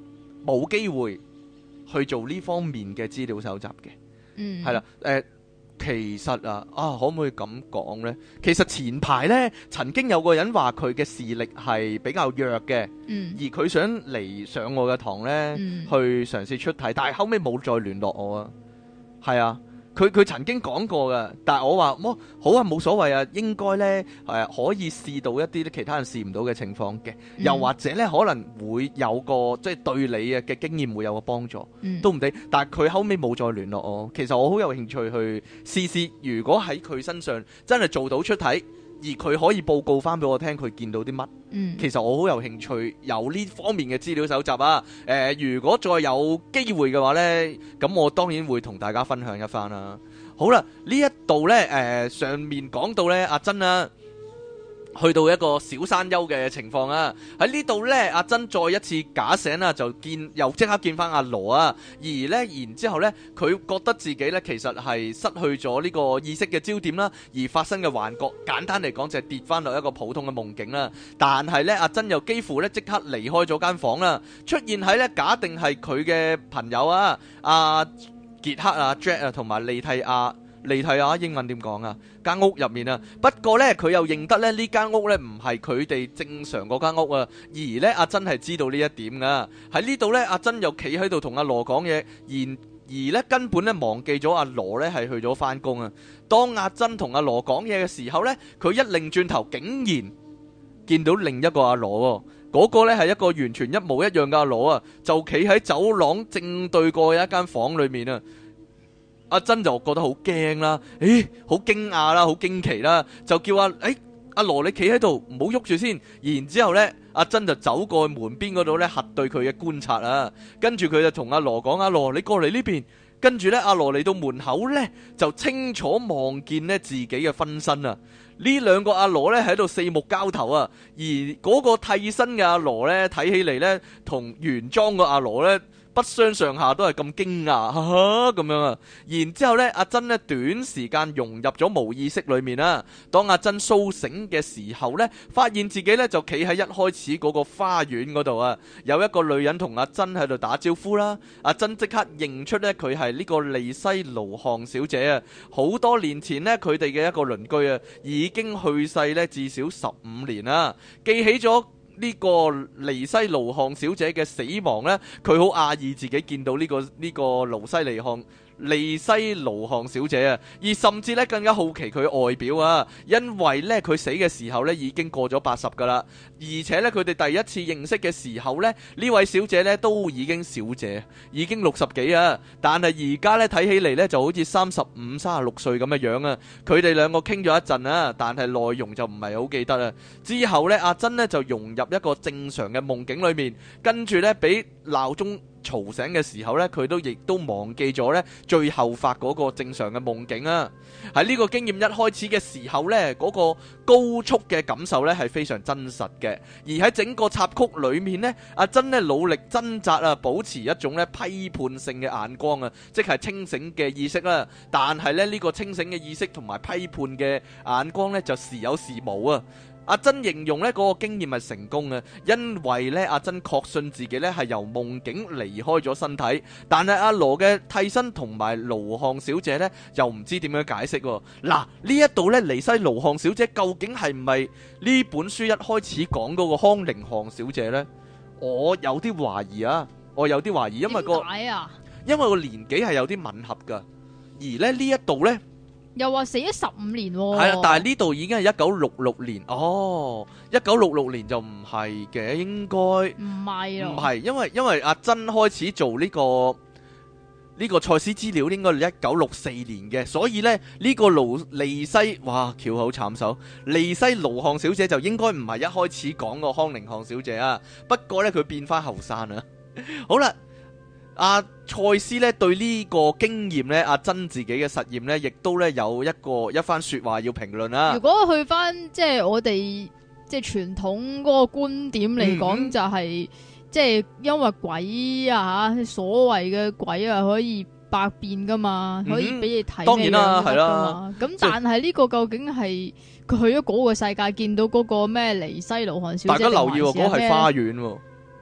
冇機會去做呢方面嘅資料搜集嘅。 嗯， 係啦，誒。其實啊，啊可唔可以咁講呢？其實前排呢，曾經有個人話佢嘅視力係比較弱嘅， 嗯， 而佢想嚟上我嘅堂呢， 嗯去嘗試出體，但係後尾冇再聯絡我啊。係啊，佢佢曾經講過嘅，但係我話麼好啊，冇所謂啊，應該呢，誒、呃、可以試到一啲其他人試唔到嘅情況嘅， 嗯又或者呢，可能會有個即係對你嘅經驗會有個幫助。 嗯都唔定，但係佢後尾冇再聯絡我。其實我好有興趣去試試，如果喺佢身上真係做到出體，而佢可以報告翻俾我聽佢見到啲乜。 嗯， 其實我好有興趣有呢方面嘅資料搜集啊。誒、呃，如果再有機會嘅話呢，咁我當然會同大家分享一番啦。好啦，呢一度呢，誒、呃、上面講到呢，阿珍啊，去到一個小山丘嘅情況啊，喺呢度呢，阿珍再一次假醒啦，就見又即刻見翻阿羅啊，而呢，然之後呢，佢覺得自己呢，其實係失去咗呢個意識嘅焦點啦，而發生嘅幻覺，簡單嚟講就係跌翻落一個普通嘅夢境啦。但係呢，阿珍又幾乎呢即刻離開咗間房啦，出現喺呢假定係佢嘅朋友啊，阿傑克啊、Jack 啊同埋利蒂亞。利蒂亞英文點講啊？間屋入面啊，不過呢，佢又認得咧呢間屋呢唔係佢哋正常嗰間屋啊，而呢，阿珍係知道呢一點噶。喺呢度呢，阿珍又企喺度同阿羅講嘢，而而呢根本呢忘記咗阿羅呢係去咗翻工啊。當阿珍同阿羅講嘢嘅時候呢，佢一擰轉頭，竟然見到另一個阿羅喎，嗰個呢係一個完全一模一樣嘅阿羅啊，就企喺走廊正對過嘅一間房裏面啊。阿珍就覺得好驚啦，誒，好驚訝啦，好驚奇啦，就叫阿誒阿羅你企喺度，唔好喐住先。然之後呢，阿珍就走過去門邊嗰度呢，核對佢嘅觀察啊。跟住佢就同阿羅講：阿羅你過嚟呢邊。跟住呢，阿羅嚟到門口呢，就清楚望見呢自己嘅分身啊。呢兩個阿羅呢喺度四目交投啊，而嗰個替身嘅阿羅呢，睇起嚟呢，同原裝嘅阿羅呢，不相上下，都係咁驚訝，哈哈咁樣啊！然之後咧，阿珍咧短時間融入咗無意識裏面啦。當阿珍蘇醒嘅時候咧，發現自己咧就企喺一開始嗰個花園嗰度啊，有一個女人同阿珍喺度打招呼啦。阿珍即刻認出咧佢係呢個利西盧漢小姐啊！好多年前呢，佢哋嘅一個鄰居啊，已經去世咧至少十五年啦，記起咗呢個尼西盧漢小姐嘅死亡呢，佢好訝異自己見到呢、這個呢、這個盧西尼漢利西盧漢小姐啊，而甚至咧更加好奇佢外表啊，因為咧佢死嘅時候咧已經過咗八十噶啦，而且咧佢哋第一次認識嘅時候咧，呢位小姐咧都已經小姐，已經六十幾啊，但係而家咧睇起嚟咧就好似三十五、三十六歲咁嘅樣啊。佢哋兩個傾咗一陣啊，但係內容就唔係好記得啦。之後咧，阿珍咧就融入一個正常嘅夢境裏面，跟住咧俾鬧鐘嘈醒嘅時候呢，佢都亦都忘記咗呢最後發嗰個正常嘅夢境啊！喺呢個經驗一開始嘅時候呢，嗰個高速嘅感受呢係非常真實嘅。而喺整個插曲裏面呢，阿珍呢努力掙扎啊，保持一種呢批判性嘅眼光啊，即係清醒嘅意識啦。但係呢，呢個清醒嘅意識同埋批判嘅眼光呢，就時有時冇啊。阿珍形容呢嗰個經驗係成功嘅，因為呢阿珍確信自己呢係由夢境離開咗身體，但係阿羅嘅替身同埋盧漢小姐呢又唔知點樣解釋喎。嗱，呢一度呢尼西盧漢小姐究竟係唔係呢本書一開始講嗰個康寧漢小姐呢？我有啲懷疑啊，我有啲懷疑，因為個因為個年紀係有啲吻合㗎，而咧呢一度呢。 又話死咗十五年喎， 係啊，但係呢度已經係一九六六年，哦，一九六六年就唔係嘅，應該唔係咯， 唔係，因為因為阿珍開始做呢個呢個賽斯資料應該係一九六四年嘅，所以呢呢個盧利西，哇，翹口慘手，利西盧漢小姐就應該唔係一開始講個康寧漢小姐啊，不過呢佢變翻後生啊，好啦。阿賽斯咧對呢個經驗咧，阿珍自己嘅實驗咧，亦都咧有一個一番說話要評論啦。 如果去翻即係我哋即係傳統嗰個觀點嚟講，嗯，就係、是、即係因為鬼啊吓，所謂嘅鬼啊可以百變噶嘛，嗯，可以俾你睇。當然啦，係啦。咁但係呢個究竟係佢去咗嗰個世界見到嗰個咩尼西盧漢小姐？大家留意喎，嗰個係花園喎。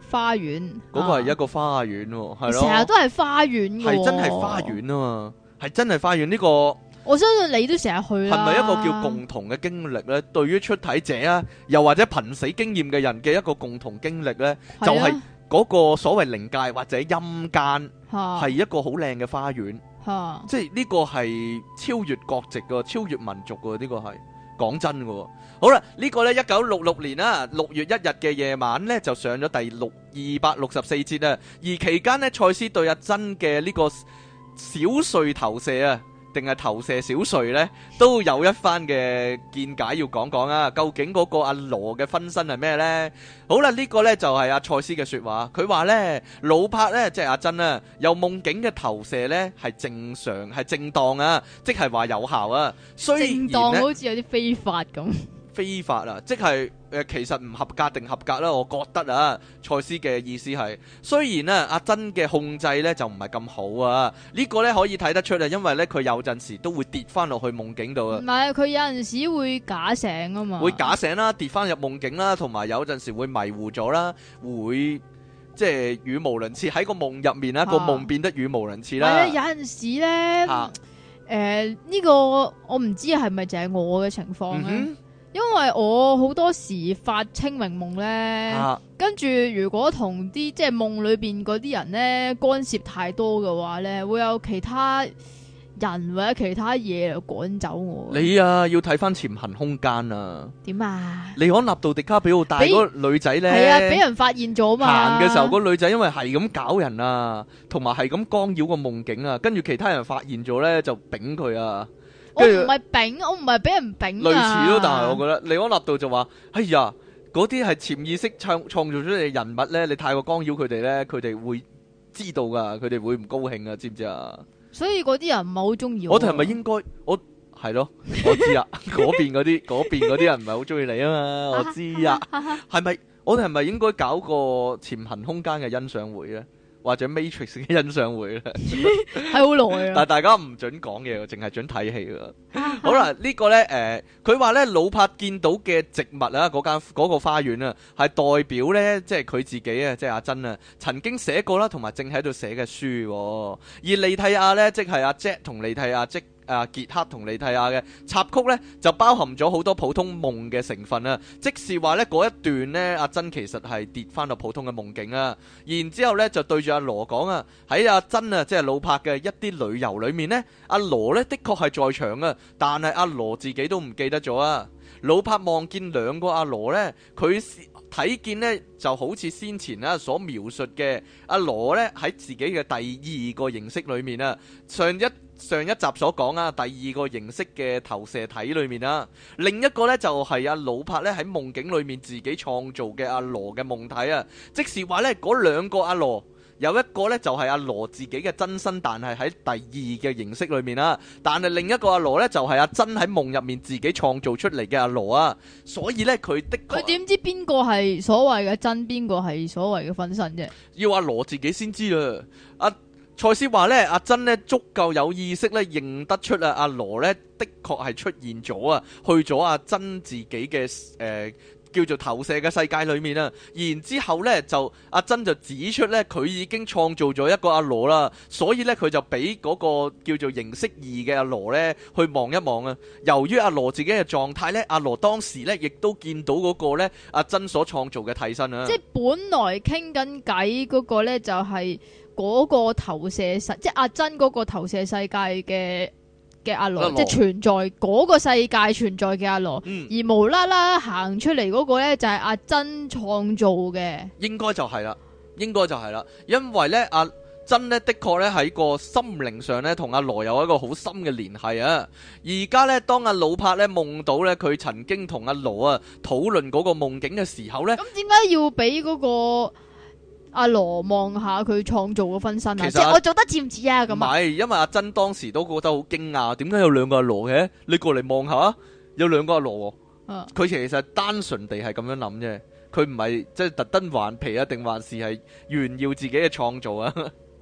花園， 嗰個係一個花園喎，係咯， 成日都係花園嘅， 係真係花園啊嘛，係真係花園呢個。 我相信你都成日去啦。 係咪一個叫共同嘅經歷呢？對於出體者啊，又或者瀕死經驗嘅人嘅一個共同經歷呢，就係嗰個所謂靈界或者陰間，係一個好靚嘅花園。即係呢個係超越國籍嘅，超越民族嘅，呢個係講真嘅。好啦，呢個呢，一九六六年啦，六月一日嘅夜晚呢，就上咗第六二百六十四節啊。而期間呢，賽斯對阿珍嘅呢個小睡投射啊，定係投射小睡呢，都有一番嘅見解要講講啊。究竟嗰個阿羅嘅分身係咩呢？好啦，呢、這個呢就係阿賽斯嘅說話。佢話呢，魯柏呢，即係阿珍啊，由夢境嘅投射呢係正常係正當啊，即係話有效啊。雖然正當好似有啲非法咁。 非法啊，即係誒、呃，其實唔合格定合格啦。我覺得啊，賽斯嘅意思係，雖然啊阿珍嘅控制咧就唔係咁好啊，呢、這個咧可以睇得出啊，因為咧佢有陣時都會跌翻落去夢境度啊。 唔係，佢有陣時會假醒啊嘛。 會假醒啦，跌翻入夢境啦，同埋有陣時會迷糊咗啦，會即係語無倫次喺個夢入面啦，個夢變得語無倫次啦。 係啊，有陣時咧，誒、啊、呢、呃這個我唔知係咪淨係我嘅情況咧。嗯，因為我好多時發清明夢咧，啊、跟住如果同啲即係夢裏邊嗰啲人咧干涉太多嘅話咧，會有其他人或者其他嘢嚟趕走我。 你啊，要睇翻潛行空間啊。 點啊？ 利安納度迪卡比奧帶嗰個女仔咧， 係啊，俾人發現咗嘛。 行嘅時候，嗰個女仔因為係咁搞人啊，同埋係咁干擾個夢境啊，跟住其他人發現咗咧就丙佢啊。 我唔係丙，我唔係俾人丙啊。類似咯，但係我覺得利安納度就話：哎呀，嗰啲係潛意識創創造出嚟嘅人物咧，你太過干擾佢哋咧，佢哋會知道噶，佢哋會唔高興啊，知唔知啊？所以嗰啲人唔係好中意我。我哋係咪應該？我係咯，我知啊。嗰邊嗰啲，嗰邊嗰啲人唔係好中意你啊嘛，我知啊。係咪？我哋係咪應該搞個潛行空間嘅欣賞會咧？或者 Matrix 嘅欣賞會咧，係好耐啊！但係大家唔準講嘢，淨係準睇戲㗎。好啦，這個、呢個咧誒，佢話咧魯柏見到嘅植物啊，嗰間嗰個花園啊，係代表咧，即係佢自己啊，即係阿珍啊，曾經寫過啦，同埋正喺度寫嘅書、啊。而利蒂亞咧，即係阿 Jet 同利蒂亞即。啊，傑克同利蒂亞嘅插曲呢，就包含咗好多普通夢嘅成分啊！即是話呢，嗰一段呢，阿珍其實係跌翻到普通嘅夢境啊！然之後呢，就對住阿羅講啊，喺阿珍啊，即係魯柏嘅一啲旅遊裏面呢，阿羅呢的確係在場啊，但係阿羅自己都唔記得咗啊！魯柏望見兩個阿羅呢，佢睇見呢就好似先前啊所描述嘅阿羅呢喺自己嘅第二個形式裏面啊，上一上一集所講啊，第二個形式嘅投射體裏面啊，另一個呢就係阿魯柏呢喺夢境裏面自己創造嘅阿羅嘅夢體啊，即是話呢嗰兩個阿羅。有一個呢，就係阿羅自己嘅真身，但係喺第二嘅形式裏面啦。但係另一個阿羅呢，就係阿珍喺夢入面自己創造出嚟嘅阿羅啊。所以呢，佢的確，佢點知邊個係所謂嘅真，邊個係所謂嘅分身啫？要阿羅自己先知啦。阿賽斯話呢，阿珍呢足夠有意識呢，認得出啊阿羅呢的確係出現咗啊，去咗阿珍自己嘅誒。呃叫做投射嘅世界裏面啊，然之後呢就阿珍就指出呢，佢已經創造咗一個阿羅啦，所以呢，佢就俾嗰個叫做形式二嘅阿羅呢去望一望啊。由於阿羅自己嘅狀態呢，阿羅當時呢亦都見到嗰個呢阿珍所創造嘅替身啊。即係本來傾緊偈嗰個呢，就係嗰個投射世，即係阿珍嗰個投射世界嘅。嘅阿羅，即係存在嗰個世界存在嘅阿羅，嗯、而無啦啦行出嚟嗰個咧就係阿珍創造嘅，應該就係啦，應該就係啦，因為咧阿珍咧的確咧喺個心靈上咧同阿羅有一個好深嘅聯繫啊！而家咧當阿魯柏咧夢到咧佢曾經同阿羅啊討論嗰個夢境嘅時候咧，咁點解要俾嗰個？阿羅望下佢創造嘅分身啊，即係我做得似唔似啊？咁唔係，因為阿珍當時都覺得好驚訝，點解有兩個阿羅嘅？你過嚟望下，有兩個阿羅。佢、啊、其實單純地係咁樣諗啫，佢唔係即係特登頑皮啊，定還是係炫耀自己嘅創造啊？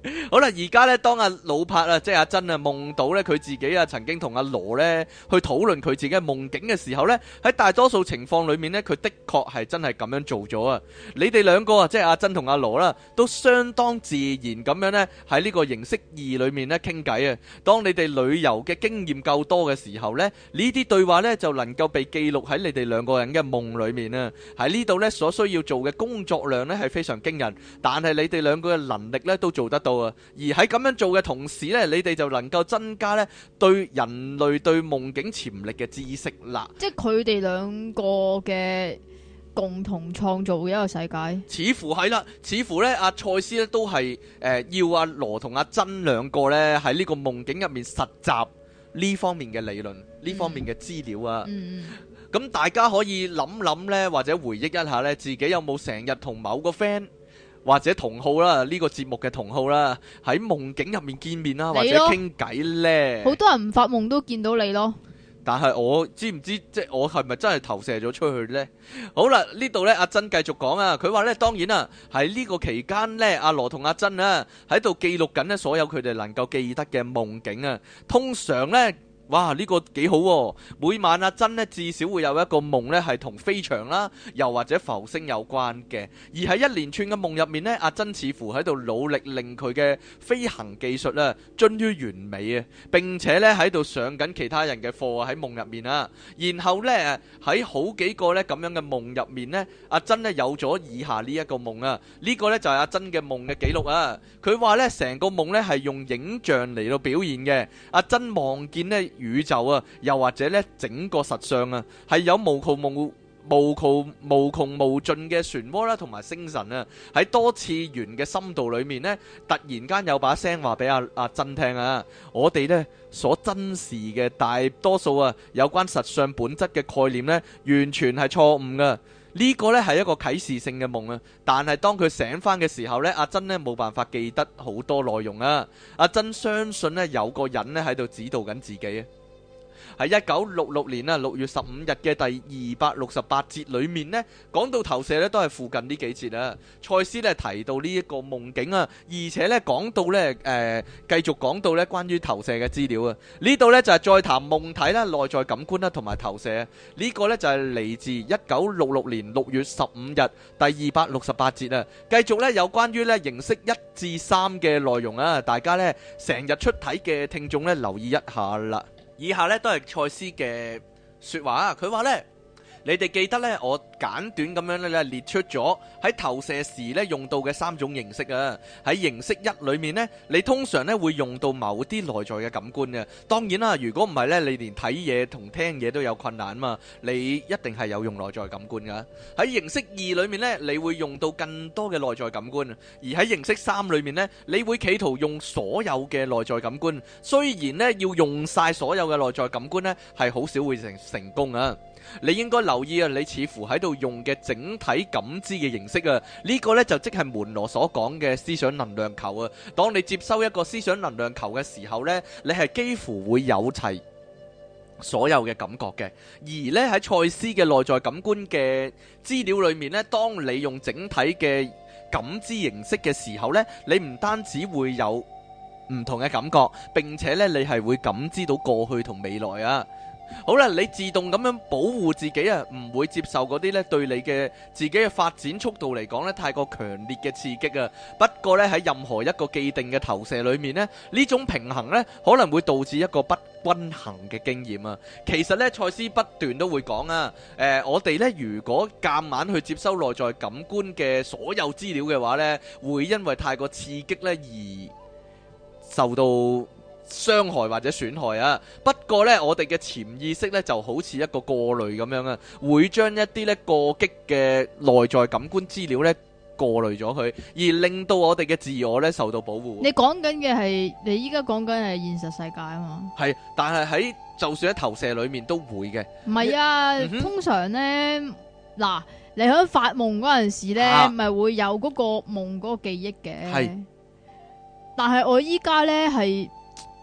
好啦，而家咧，當阿老柏啊，即係阿珍啊，夢到咧佢自己啊，曾經同阿羅咧去討論佢自己嘅夢境嘅時候咧，喺大多數情況裏面咧，佢的確係真係咁樣做咗啊！你哋兩個啊，即係阿珍同阿羅啦，都相當自然咁樣咧喺呢個形式二裏面咧傾偈啊！當你哋旅遊嘅經驗夠多嘅時候咧，呢啲對話咧就能夠被記錄喺你哋兩個人嘅夢裏面啊！喺呢度咧所需要做嘅工作量咧係非常驚人，但係你哋兩個嘅能力咧都做得到啊！而喺咁樣做嘅同時咧，你哋就能夠增加咧對人類對夢境潛力嘅知識啦。 即係佢哋兩個嘅共同創造嘅一個世界。 似乎係啦，似乎咧阿賽斯咧都係誒、呃、要阿羅同阿珍兩個咧喺呢個夢境入面實習呢方面嘅理論，呢、嗯、方面嘅資料啊。 嗯， 咁大家可以諗諗咧，或者回憶一下咧，自己有冇成日同某個 friend或者同號啦，呢、這個節目嘅同號啦，喺夢境入面見面啦，或者傾偈呢？好多人唔發夢都見到你咯。 但係我知唔知即係我係咪真係投射咗出去呢？好啦，呢度呢，阿珍繼續講啊，佢話呢，當然啊，喺呢個期間呢，阿羅同阿珍啊喺度記錄緊呢所有佢哋能夠記得嘅夢境啊，通常呢。哇！呢、這個幾好喎、啊！每晚阿珍呢至少會有一個夢呢係同飛翔啦，又或者浮星有關嘅。而喺一連串嘅夢入面呢，阿珍似乎喺度努力令佢嘅飛行技術啊臻於完美啊！並且呢喺度上緊其他人嘅課啊喺夢入面啊。然後呢，喺好幾個呢咁樣嘅夢入面呢，阿珍呢有咗以下呢一個夢啊。呢、這個呢就係、是、阿珍嘅夢嘅記錄啊。佢話呢成個夢呢係用影像嚟到表現嘅。阿珍望見呢。宇宙啊，又或者咧整個實相啊，係有無窮無無窮無窮無盡嘅漩渦啦，同埋星辰啊，喺多次元嘅深度裏面呢，突然間有把聲話俾阿阿珍聽啊，我哋呢所珍視嘅大多數啊有關實相本質嘅概念呢，完全係錯誤噶。呢個呢係一個啟示性嘅夢啊，但係當佢醒翻嘅時候呢，阿珍呢冇辦法記得好多內容啊。阿珍相信呢有個人呢喺度指導緊自己啊。喺一九六六年啊六月十五日嘅第二百六十八節裏面呢，講到投射呢都係附近呢幾節啊。賽斯呢提到呢一個夢境啊，而且呢講到呢誒繼續講到呢關於投射嘅資料啊。呢度呢就係再談夢體啦、內在感官啦同埋投射。呢個呢就係嚟自一九六六年六月十五日第二百六十八節啊。繼續呢有關於呢形式一至三嘅內容啊，大家呢成日出體嘅聽眾呢留意一下啦。以下咧都係賽斯嘅說話啊，佢話呢，你哋記得呢，我簡短咁樣咧列出咗喺投射時咧用到嘅三種形式啊。喺形式一裏面呢，你通常咧會用到某啲內在嘅感官嘅。當然啦，如果唔係呢，你連睇嘢同聽嘢都有困難嘛，你一定係有用內在感官噶。喺形式二裏面呢，你會用到更多嘅內在感官，而喺形式三裏面呢，你會企圖用所有嘅內在感官。雖然呢，要用晒所有嘅內在感官呢，係好少會成成功啊。你應該留意啊，你似乎喺度用嘅整體感知嘅形式啊，呢個呢就即係門羅所講嘅思想能量球啊。當你接收一個思想能量球嘅時候呢，你係幾乎會有齊所有嘅感覺嘅。而呢喺賽斯嘅內在感官嘅資料裏面呢，當你用整體嘅感知形式嘅時候呢，你唔單止會有唔同嘅感覺，並且呢你係會感知到過去同未來啊。好啦，你自動咁樣保護自己啊，唔會接受嗰啲咧對你嘅自己嘅發展速度嚟講咧太過強烈嘅刺激啊。不過咧喺任何一個既定嘅投射裏面咧，呢種平衡咧可能會導致一個不均衡嘅經驗啊。其實咧賽斯不斷都會講啊，誒、呃、我哋咧如果夾硬去接收內在感官嘅所有資料嘅話咧，會因為太過刺激咧而受到傷害或者損害啊。不過呢，我哋嘅潛意識呢就好似一個過濾咁樣啊，會將一啲呢過激嘅內在感官資料呢過濾咗佢，而令到我哋嘅自我呢受到保護。 你講緊嘅係你依家講緊係現實世界啊嘛？係， 但係喺就算喺投射裏面都會嘅。 唔係啊，嗯、通常呢，嗱，你喺發夢嗰陣時呢，咪、啊、會有嗰個夢嗰個記憶嘅。係，但係我依家呢係。記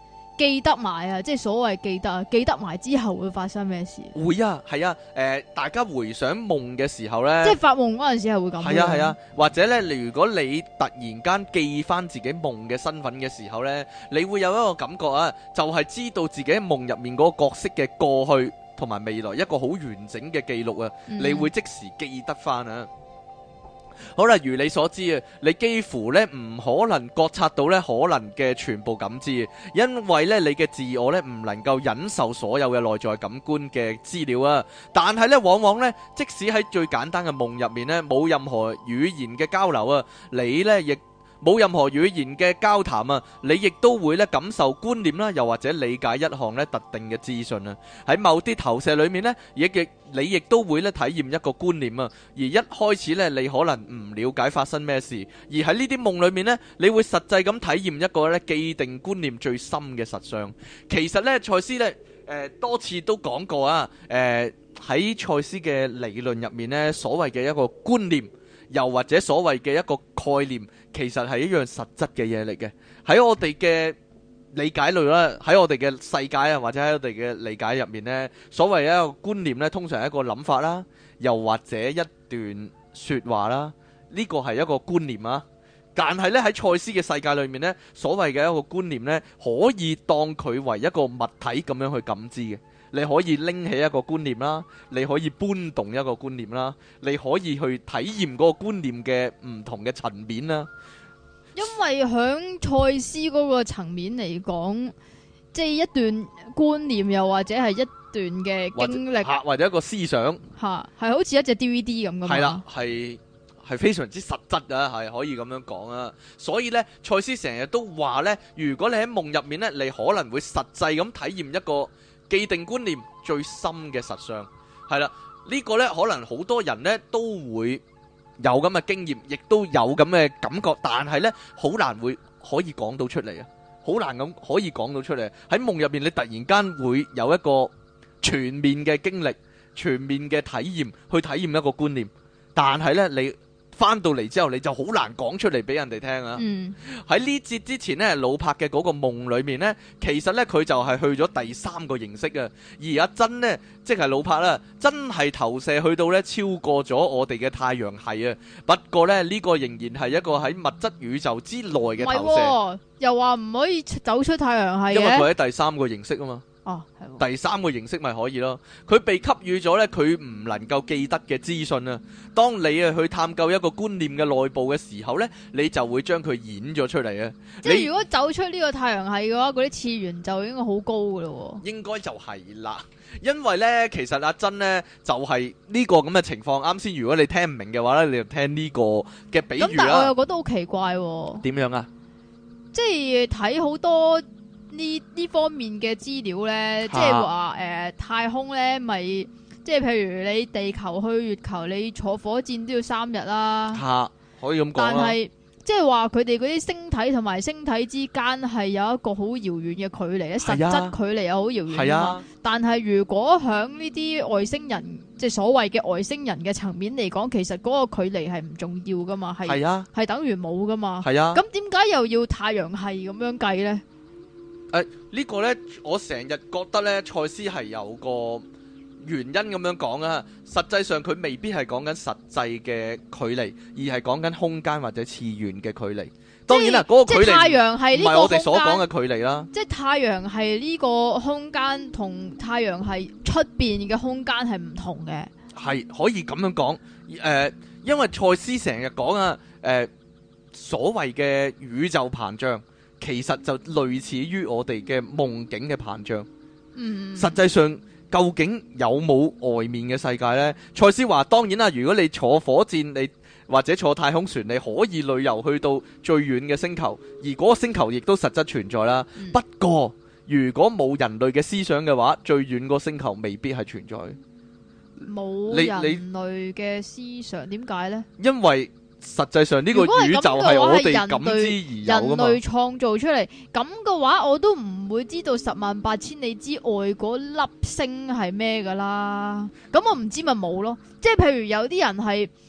記得埋啊，即係所謂記得啊，記得埋之後會發生咩事？ 會啊，係啊，誒、呃，大家回想夢嘅時候咧， 即係發夢嗰陣時係會咁。 係啊係啊，或者咧，如果你突然間記翻自己夢嘅身份嘅時候咧，你會有一個感覺啊，就係、是、知道自己喺夢入面嗰個角色嘅過去同埋未來一個好完整嘅記錄啊，嗯、你會即時記得翻啊。好啦，如你所知啊，你幾乎咧唔可能覺察到咧可能嘅全部感知，因為咧你嘅自我咧唔能夠忍受所有嘅內在感官嘅資料啊。但係咧，往往咧，即使喺最簡單嘅夢入面咧，冇任何語言嘅交流啊，你咧亦冇任何語言嘅交談啊，你亦都會咧感受觀念啦，又或者理解一項咧特定嘅資訊啊。喺某啲投射裏面咧，亦亦你亦都會咧體驗一個觀念啊。而一開始咧，你可能唔了解發生咩事，而喺呢啲夢裏面咧，你會實際咁體驗一個咧既定觀念最深嘅實相。其實咧，賽斯咧誒多次都講過啊，誒喺賽斯嘅理論入面咧，所謂嘅一個觀念，又或者所謂嘅一個概念，其實係一樣實質嘅嘢嚟嘅。喺我哋嘅理解裏啦，喺我哋嘅世界啊，或者喺我哋嘅理解入面呢，所謂一個觀念呢，通常係一個諗法啦，又或者一段說話啦，呢個係一個觀念啊。但係呢，喺賽斯嘅世界裏面呢，所謂嘅一個觀念呢，可以當佢為一個物體咁樣去感知嘅。你可以拎起一個觀念啦，你可以搬動一個觀念啦，你可以去體驗嗰個觀念嘅唔同嘅層面啦。 因為響賽斯嗰個層面嚟講，即係一段觀念，又或者係一段嘅經歷， 或者，或者一個思想， 吓係好似一隻 D V D 咁噶嘛。 係啦，係係非常之實質啊，係可以咁樣講啊。所以呢，賽斯成日都話呢，如果你喺夢入面呢，你可能會實際咁體驗一個既定觀念最深嘅實相。係啦，呢個呢，可能好多人呢都會有咁嘅經驗，亦都有咁嘅感覺，但係呢，好難會可以講到出嚟啊，好難咁可以講到出嚟。喺夢入面，你突然間會有一個全面嘅經歷、全面嘅體驗，去體驗一個觀念，但係呢，你翻到嚟之後，你就好難講出嚟俾人哋聽啊！喺呢節之前呢，老柏嘅嗰個夢裏面呢，其實呢，佢就係去咗第三個形式啊。而阿珍呢，即係老柏啦，真係投射去到呢超過咗我哋嘅太陽系啊。不過呢，呢、呢個仍然係一個喺物質宇宙之內嘅投射。 哦、又話唔可以走出太陽系嘅， 因為佢喺第三個形式啊嘛。 哦， 第三個形式咪可以咯，佢被給予咗呢，佢唔能夠記得嘅資訊啊。當你啊去探究一個觀念嘅內部嘅時候呢，你就會將佢演咗出嚟啊。 即係如果走出呢個太陽系嘅話，嗰啲次元就應該好高噶咯。應該就係啦，因為呢，其實阿珍呢，就係、是、呢個咁嘅情況。啱先，如果你聽唔明嘅話呢，你就聽呢個嘅比喻啦。咁但係我又覺得好奇怪。 點樣啊？ 即係睇好多。呢呢方面嘅資料呢，即係話誒太空呢咪即係譬如你地球去月球，你坐火箭都要三日啦。 嚇，可以咁講。 但係即係話佢哋嗰啲星體同埋星體之間係有一個好遙遠嘅距離咧，實質距離又好遙遠。係啊。但係如果響呢啲外星人，即係所謂嘅外星人嘅層面嚟講，其實嗰個距離係唔重要噶嘛，係係啊，係等於冇噶嘛。係啊。咁點解又要太陽系咁樣計呢？ 誒、呃，這個、呢個咧，我成日覺得咧，賽斯係有個原因咁樣講啊。實際上佢未必係講緊實際嘅距離，而係講緊空間或者次元嘅距離。當然啦，嗰、那個距離唔係我哋所講嘅距離啦。即係太陽系呢個空間同太陽系出邊嘅空間係唔同嘅。係可以咁樣講。誒、呃，因為賽斯成日講啊，誒、呃，所謂嘅宇宙膨脹。其實就類似於我哋嘅夢境嘅膨脹。嗯，實際上究竟有冇外面嘅世界呢？賽斯話當然啦，如果你坐火箭，你或者坐太空船，你可以旅遊去到最遠嘅星球，而嗰個星球亦都實質存在啦。嗯、不過如果冇人類嘅思想嘅話，最遠個星球未必係存在。冇人類嘅思想，點解呢？因為實際上呢個宇宙係我哋感知而有噶嘛，人類創造出嚟，咁嘅話我都唔會知道十萬八千里之外嗰粒星係咩噶啦。咁我唔知咪冇咯。即係譬如有啲人係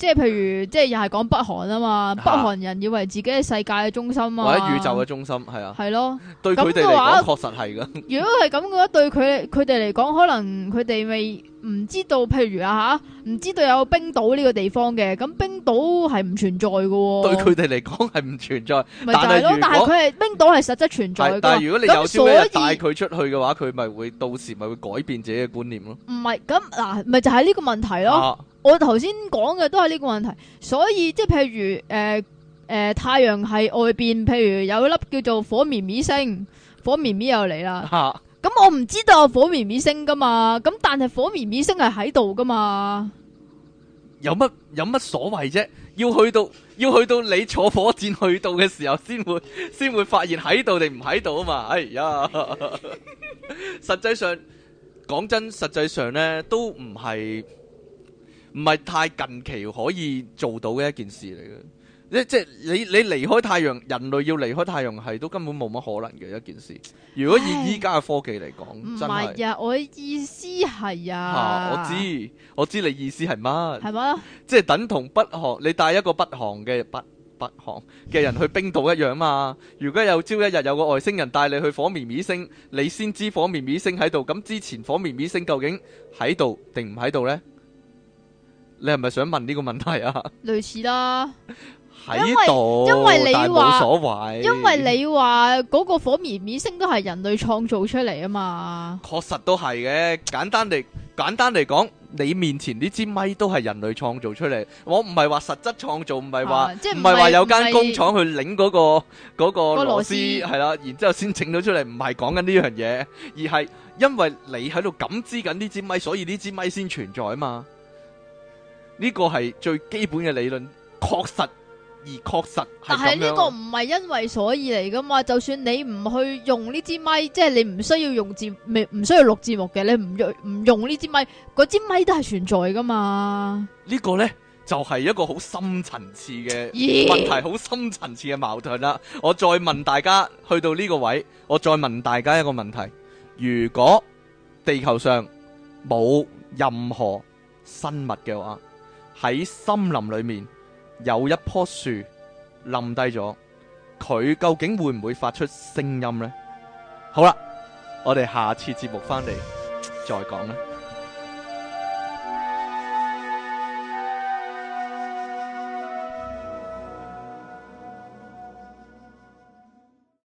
即係譬如即係又係講北韓啊嘛， 嚇北韓人以為自己係世界嘅中心啊， 或者宇宙嘅中心，係啊， 係咯。 對佢哋嚟咁嘅話講確實係噶。 如果係咁嘅話，對佢佢哋嚟講，可能佢哋未唔知道，譬如啊吓，唔知道有冰島呢個地方嘅，咁冰島係唔存在嘅喎。 對佢哋嚟講係唔存在， 咪就係咯，但係佢係冰島係實質存在係嘅。 但係如果你有朝一咁所以日帶佢出去嘅話，佢咪會到時咪會改變自己嘅觀念咯。 唔係咁嗱，咪就係呢個問題咯。 啊我頭先講嘅都係呢個問題，所以即係譬如誒誒、呃呃、太陽系外邊，譬如有一粒叫做火綿綿星，火綿綿又嚟啦。 嚇咁我唔知道有火綿綿星噶嘛，咁但係火綿綿星係喺度噶嘛。 有乜有乜所謂啫？要去到要去到你坐火箭去到嘅時候，先會先會發現喺度定唔喺度啊嘛！哎呀，實際上講真，實際上咧都唔係唔係太近期可以做到嘅一件事嚟嘅。即即係你你離開太陽，人類要離開太陽系都根本冇乜可能嘅一件事。如果以依家嘅科技嚟講， 唔真係係啊，我意思係嚇啊， 我知我知你意思係乜？ 係嘛？ 即係等同北韓，你帶一個北韓嘅北北韓嘅人去冰島一樣嘛。如果有朝一日有個外星人帶你去火綿綿星，你先知火綿綿星喺度。咁之前火綿綿星究竟喺度定唔喺度呢？你係咪想問呢個問題啊？ 類似啦。 喺度， 因為你但係話冇所謂， 因為你話嗰個火綿綿星都係人類創造出嚟啊嘛。 確實都係嘅。簡單嚟簡單嚟講，你面前呢支咪都係人類創造出嚟。我唔係話實質創造，唔係話啊即係唔唔係話有間唔係工廠去擰嗰個嗰個個螺螺絲絲係啦，然之後先整到出嚟。唔係講緊呢樣嘢，而係因為你喺度感知緊呢支咪，所以呢支咪先存在啊嘛。呢個係最基本嘅理論，確實。而確實係但係呢咁樣。 個唔係因為所以嚟噶嘛，就算你唔去用呢支咪，即係你唔需要用節，唔唔需要錄節目嘅，你唔用唔用呢支咪，嗰支咪都係存在噶嘛。 呢個呢，就係一個好深層次嘅咦問題，好深層次嘅矛盾啦。我再問大家，去到呢個位，我再問大家一個問題：如果地球上冇任何生物嘅話，喺森林裏面有一棵樹冧低咗，佢究竟會唔會發出聲音呢？好啦，我哋下次節目翻嚟再講啦。